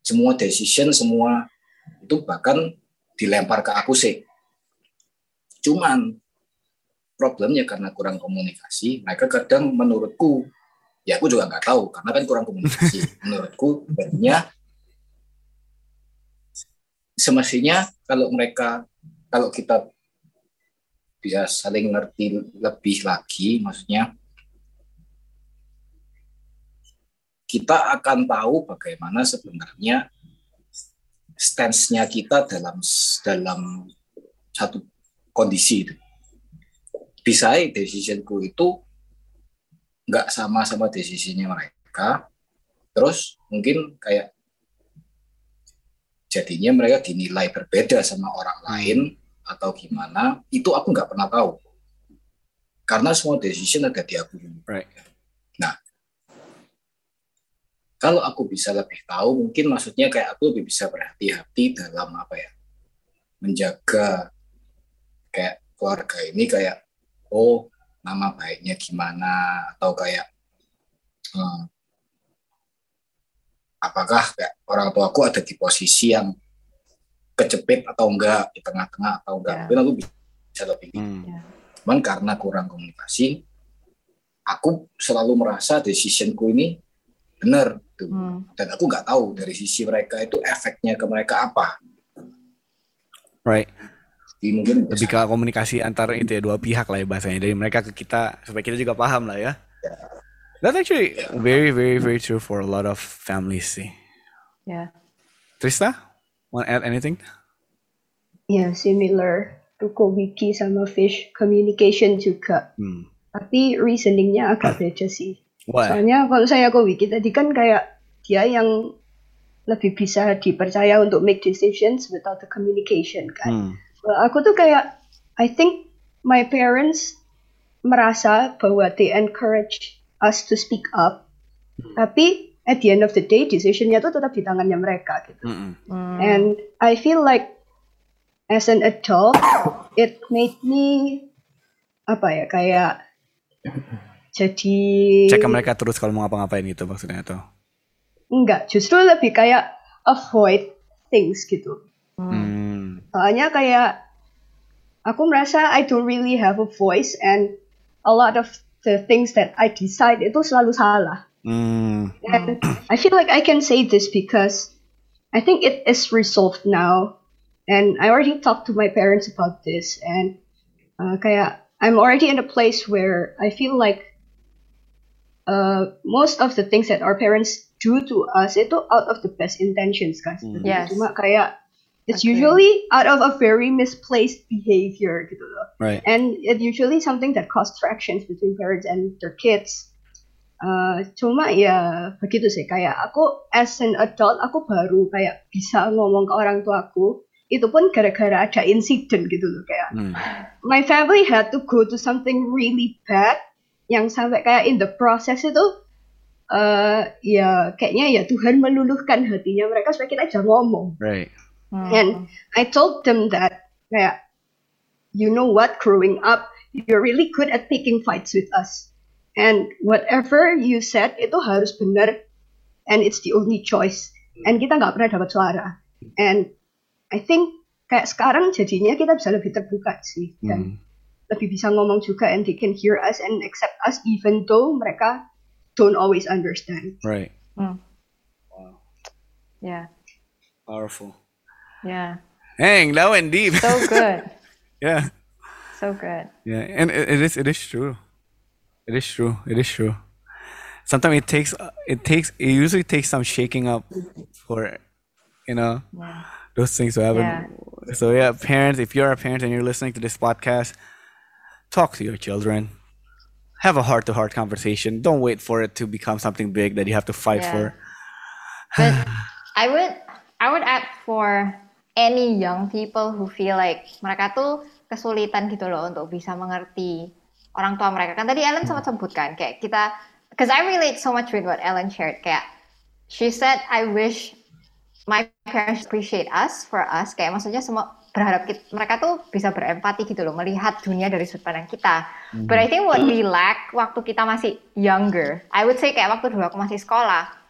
semua decision, semua itu bahkan dilempar ke aku sih. Cuman problemnya karena kurang komunikasi, mereka kadang menurutku, ya aku juga nggak tahu karena kan kurang komunikasi. Menurutku sebenarnya semestinya kalau mereka, kalau kita bisa saling ngerti lebih lagi, maksudnya kita akan tahu bagaimana sebenarnya stance-nya kita dalam dalam satu kondisi itu. Bisa decisionku itu nggak sama sama decisionnya mereka, terus mungkin kayak jadinya mereka dinilai berbeda sama orang lain atau gimana, itu aku nggak pernah tahu karena semua decision ada di aku. Right. Nah, kalau aku bisa lebih tahu, mungkin maksudnya kayak aku lebih bisa berhati-hati dalam apa ya, menjaga kayak keluarga ini kayak, oh nama baiknya gimana, atau kayak hmm, apakah kayak orang tuaku ada di posisi yang kejepit atau enggak, di tengah-tengah atau enggak, Yeah. mungkin aku bisa lebih. Hmm. Yeah. Cuman karena kurang komunikasi, aku selalu merasa decisionku ini benar tuh. Hmm. Dan aku nggak tahu dari sisi mereka itu efeknya ke mereka apa. Right. Jadi mungkin Lebih ke komunikasi antar itu ya, dua pihak lah ya bahasanya, dari mereka ke kita supaya kita juga paham lah ya. That's actually very very very true for a lot of families sih. Yeah. Trista, want to add anything? Ya, similar to Wiki sama Fish, communication juga. Hmm. Tapi reasoningnya agak beda sih. Why? Soalnya kalau saya ke Wiki tadi kan kayak dia yang lebih bisa dipercaya untuk make decisions without the communication kan. Hmm. Well, aku tuh kayak, I think my parents merasa bahwa they encourage us to speak up, tapi at the end of the day decisionnya tuh tetap di tangannya mereka gitu. Mm-mm. Hmm. And I feel like as an adult, it made me apa ya kayak jadi Cek ke mereka terus kalau mau ngapa-ngapain gitu maksudnya atau? enggak, justru lebih kayak avoid things gitu. Hmm. Soalnya kayak aku merasa I don't really have a voice and a lot of the things that I decide itu selalu salah. Hmm. And I feel like I can say this because I think it is resolved now. And I already talked to my parents about this. And uh, kayak I'm already in a place where I feel like uh, most of the things that our parents do to us itu out of the best intentions kan. Hmm. Yes. Cuma kayak it's Okay. usually out of a very misplaced behavior gitu loh. Right. And it usually something that causes frictions between parents and their kids. Uh, cuma ya begitu sih, kayak aku as an adult aku baru kayak bisa ngomong ke orang tuaku itu pun gara-gara ada insiden gitu loh, kayak Hmm. my family had to go to something really bad yang sampai kayak in the process itu uh, ya kayaknya ya Tuhan meluluhkan hatinya mereka supaya kita bisa ngomong. Right. Hmm. And I told them that kayak, you know what, growing up you're really good at picking fights with us. And whatever you said itu harus benar, and it's the only choice. And kita nggak pernah dapat suara. And I think kayak sekarang jadinya kita bisa lebih terbuka sih, dan Hmm. lebih bisa ngomong juga, and they can hear us and accept us even though mereka don't always understand. Right. Hmm. Wow. Yeah. Powerful. Yeah. Dang, that went deep. So good. Yeah. So good. Yeah, and it, it is it is true. It is true. It is true. Sometimes it takes it takes it usually takes some shaking up for you know Yeah. those things to happen. Yeah. So yeah, parents, if you're a parent and you're listening to this podcast, talk to your children. Have a heart-to-heart conversation. Don't wait for it to become something big that you have to fight Yeah. for. But I would I would add for any young people who feel like mereka tuh kesulitan gitu loh untuk bisa mengerti orang tua mereka. Kan tadi Ellen sempat sebutkan kayak kita, because I relate so much with what Ellen shared. Kayak she said, I wish my parents appreciate us for us. Kayak maksudnya semua berharap kita, mereka tuh bisa berempati gitu loh, melihat dunia dari sudut pandang kita. But I think what we lack waktu kita masih younger, I would say kayak waktu dulu aku masih sekolah,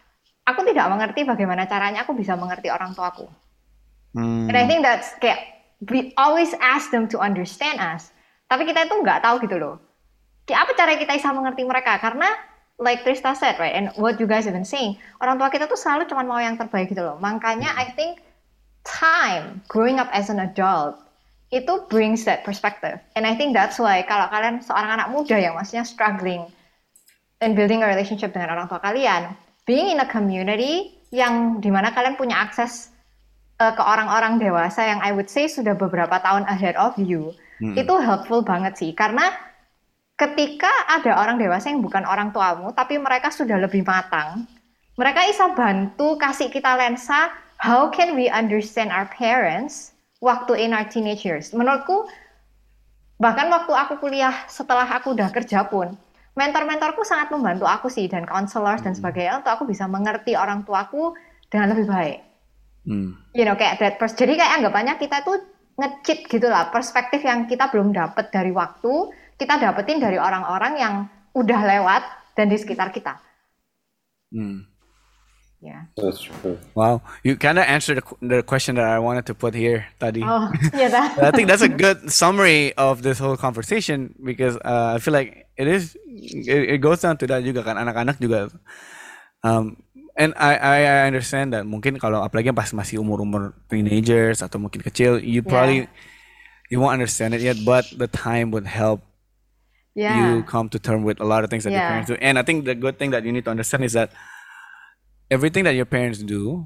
aku tidak mengerti bagaimana caranya aku bisa mengerti orang tuaku. Hmm. And I think that's kayak we always ask them to understand us, tapi kita itu nggak tahu gitu loh. Kayak apa cara kita bisa mengerti mereka? Karena like Trista said, right, and what you guys have been saying, orang tua kita tuh selalu cuma mau yang terbaik gitu loh. Makanya I think time growing up as an adult itu brings that perspective, and I think that's why kalau kalian seorang anak muda yang maksudnya struggling and building a relationship dengan orang tua kalian, being in a community yang dimana kalian punya akses uh, ke orang-orang dewasa yang I would say sudah beberapa tahun ahead of you, hmm. itu helpful banget sih. Karena ketika ada orang dewasa yang bukan orang tuamu, tapi mereka sudah lebih matang, mereka bisa bantu kasih kita lensa, how can we understand our parents waktu in our teenage years. Menurutku, bahkan waktu aku kuliah setelah aku udah kerja pun, mentor-mentorku sangat membantu aku sih, dan counselors dan sebagainya, untuk aku bisa mengerti orang tuaku dengan lebih baik. Hmm. You know, kayak that pers- jadi kayak anggapannya kita tuh nge-cheat gitu lah, perspektif yang kita belum dapat dari waktu, kita dapetin dari orang-orang yang udah lewat dan di sekitar kita. Hmm. Yeah. That's true. Wow, you kind of answered the, the question that I wanted to put here tadi. Oh, yeah. That. I think that's a good summary of this whole conversation, because uh, I feel like it is. It, it goes down to that juga kan, anak-anak juga. Um, and I, I I understand that mungkin kalau apalagi pas masih umur-umur teenagers atau mungkin kecil, you probably yeah. you won't understand it yet, but the time would help yeah. you come to terms with a lot of things that yeah. your parents do. And I think the good thing that you need to understand is that everything that your parents do,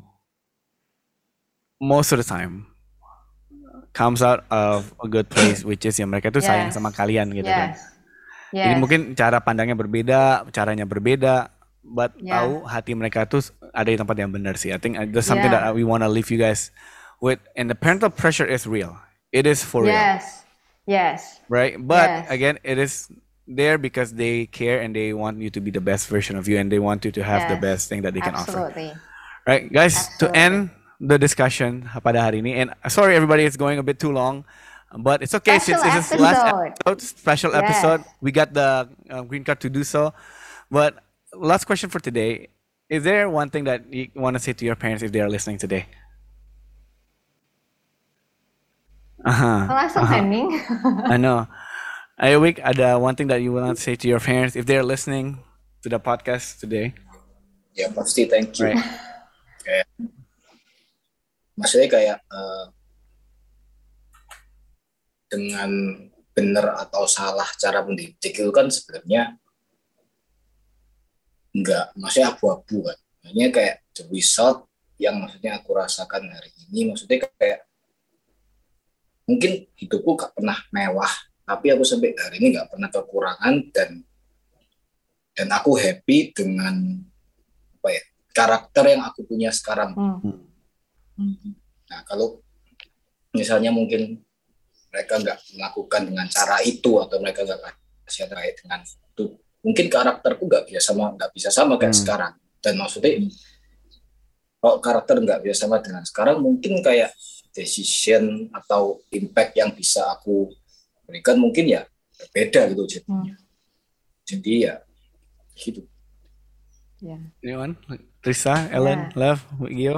most of the time, comes out of a good place, which is ya mereka tuh yes. sayang sama kalian gitu yes. kan. Yes. Jadi mungkin cara pandangnya berbeda, caranya berbeda, but yeah. tahu hati mereka tuh ada di tempat yang benar sih. I think that's something yeah. that we want to leave you guys with. And the parental pressure is real. It is for yes. real. Yes. Yes. Right? But yes. again, it is there because they care and they want you to be the best version of you, and they want you to have yes. the best thing that they can Absolutely. offer. Right, guys, Absolutely. to end the discussion pada hari ini, and sorry everybody, it's going a bit too long, but it's okay special since this is last episode, special yes. episode, we got the uh, green card to do so. But last question for today, is there one thing that you want to say to your parents if they are listening today? Uh-huh. Langsung uh-huh. sending. I know. Ayo Wik, ada one thing that you want to say to your parents if they're listening to the podcast today? Ya pasti, thank you. Right. Kayak, maksudnya kayak uh, dengan benar atau salah cara mendidik itu kan sebenarnya enggak, maksudnya abu-abu kan. Maksudnya kayak the result yang maksudnya aku rasakan hari ini, maksudnya kayak mungkin hidupku gak pernah mewah, tapi aku sampai hari ini nggak pernah kekurangan, dan dan aku happy dengan apa ya karakter yang aku punya sekarang. Hmm. Nah kalau misalnya mungkin mereka nggak melakukan dengan cara itu, atau mereka nggak kasih terkait dengan itu, mungkin karakterku nggak bisa sama nggak bisa sama kayak hmm. sekarang. Dan maksudnya kalau karakter nggak bisa sama dengan sekarang, mungkin kayak decision atau impact yang bisa aku berikan mungkin ya berbeda gitu jadinya. Hmm. Jadi ya gitu. Yeah. Anyone? Trista, Ellen, yeah. Lev, Gio?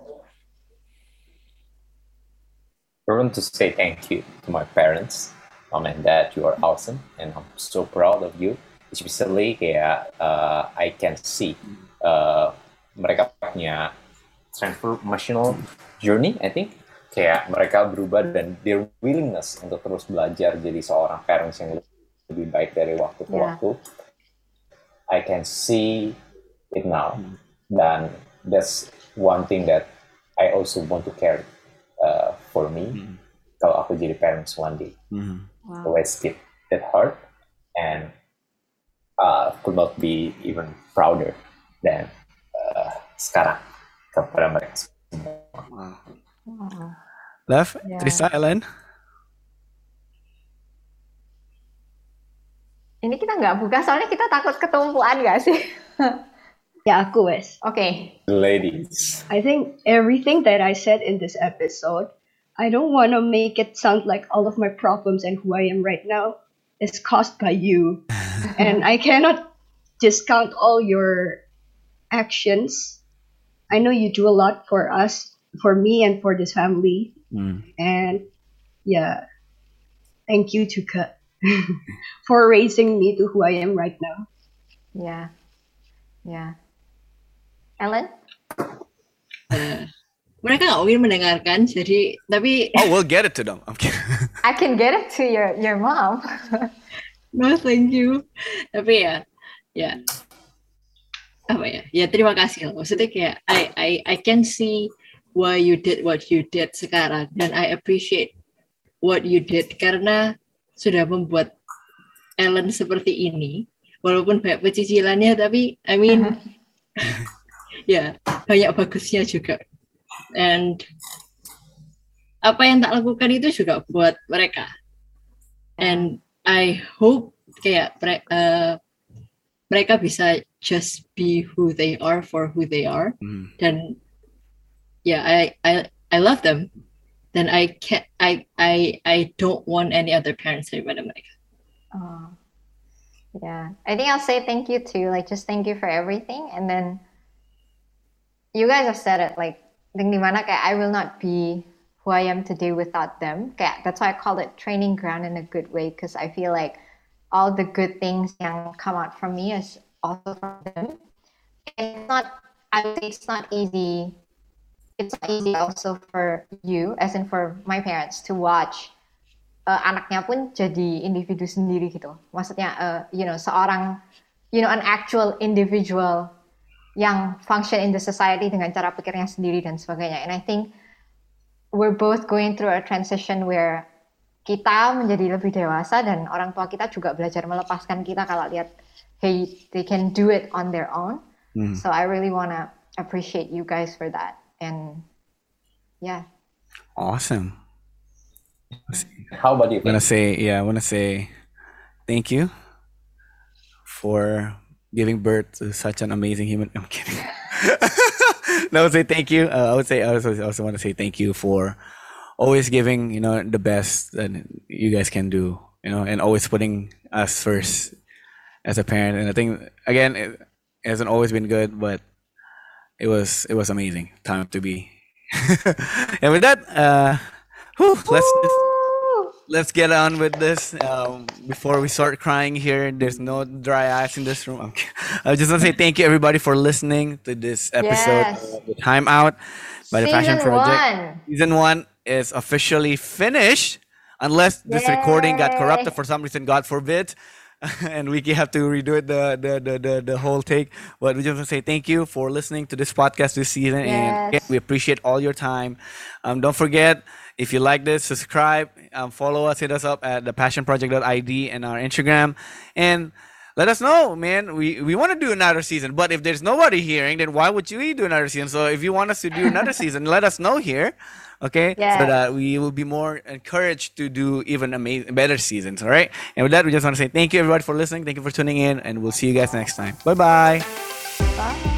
I want to say thank you to my parents, mom and dad. You are awesome, and I'm so proud of you. Especially kayak uh, I can see uh, mereka punya transformational journey, I think. Kayak mereka berubah dan their willingness untuk terus belajar jadi seorang parents yang lebih baik dari waktu ke yeah. waktu. I can see it now. Dan that's one thing that I also want to carry uh, for me. Mm. Kalau aku jadi parents one day. Mm. Wow. Always keep it hard, and uh, could not be even prouder than uh, sekarang kepada mereka semua. Wow. Wow. Lev, yeah. Trista, Ellen? Ini kita nggak buka, soalnya kita takut ketumpuan nggak sih? Ya, aku wes. Okay. Ladies. I think everything that I said in this episode, I don't want to make it sound like all of my problems and who I am right now is caused by you. And I cannot discount all your actions I know you do a lot for us, for me, and for this family. Mm. And yeah, thank you juga for raising me to who I am right now. Yeah. Yeah. Ellen? Uh, mereka nggak mungkin mendengarkan, jadi tapi Oh, we'll get it to them. I'm kidding. I can get it to your your mom. no thank you. Tapi ya, ya apa ya? Ya terima kasih loh. Maksudnya kayak I I I can see why you did what you did sekarang, dan I appreciate what you did karena sudah membuat Ellen seperti ini. Walaupun banyak pecicilannya, tapi I mean, ya banyak bagusnya juga. And apa yang tak lakukan itu juga buat mereka. And I hope kayak uh, mereka bisa just be who they are for who they are. Mm. Dan ya, yeah, I I I love them. Dan I can't I I I don't want any other parents daripada mereka. Oh. Yeah, I think I'll say thank you too. Like, just thank you for everything. And then you guys have said it. Like, think dimana kayak I will not be who I am today without them. Kayak that's why I call it training ground in a good way, because I feel like all the good things yang come out from me is also from them. And it's not. I would say it's not easy. It's not easy also for you, as in for my parents, to watch. Uh, anaknya pun jadi individu sendiri gitu. Maksudnya, uh, you know, seorang, you know, an actual individual yang function in the society dengan cara pikirnya sendiri dan sebagainya. And I think we're both going through a transition where kita menjadi lebih dewasa dan orang tua kita juga belajar melepaskan kita kalau lihat, hey, they can do it on their own. Mm. So I really wanna appreciate you guys for that. And yeah. Awesome. How about you? I want to say, yeah, I want to say thank you for giving birth to such an amazing human. I'm kidding. No, I would say thank you. Uh, I would say I also, also want to say thank you for always giving, you know, the best that you guys can do, you know, and always putting us first as a parent. And I think again, it hasn't always been good, but it was it was amazing time to be. And with that, uh, whew, let's. Let's get on with this. Um, before we start crying here, there's no dry eyes in this room. Okay. I just want to say thank you, everybody, for listening to this episode Yes. of The Time Out by the Passion Season Project. one. Season one is officially finished, unless this recording got Yay. corrupted for some reason, God forbid. And we have to redo it, the, the, the, the, the whole take. But we just want to say thank you for listening to this podcast this season. And Yes. again, we appreciate all your time. Um, don't forget, if you like this, subscribe, um, follow us, hit us up at the passion project dot I D and our Instagram. And let us know, man. We we want to do another season. But if there's nobody hearing, then why would you do another season? So if you want us to do another season, let us know here. Okay? Yes. So that we will be more encouraged to do even amazing, better seasons. All right? And with that, we just want to say thank you, everybody, for listening. Thank you for tuning in. And we'll see you guys next time. Bye-bye. Bye.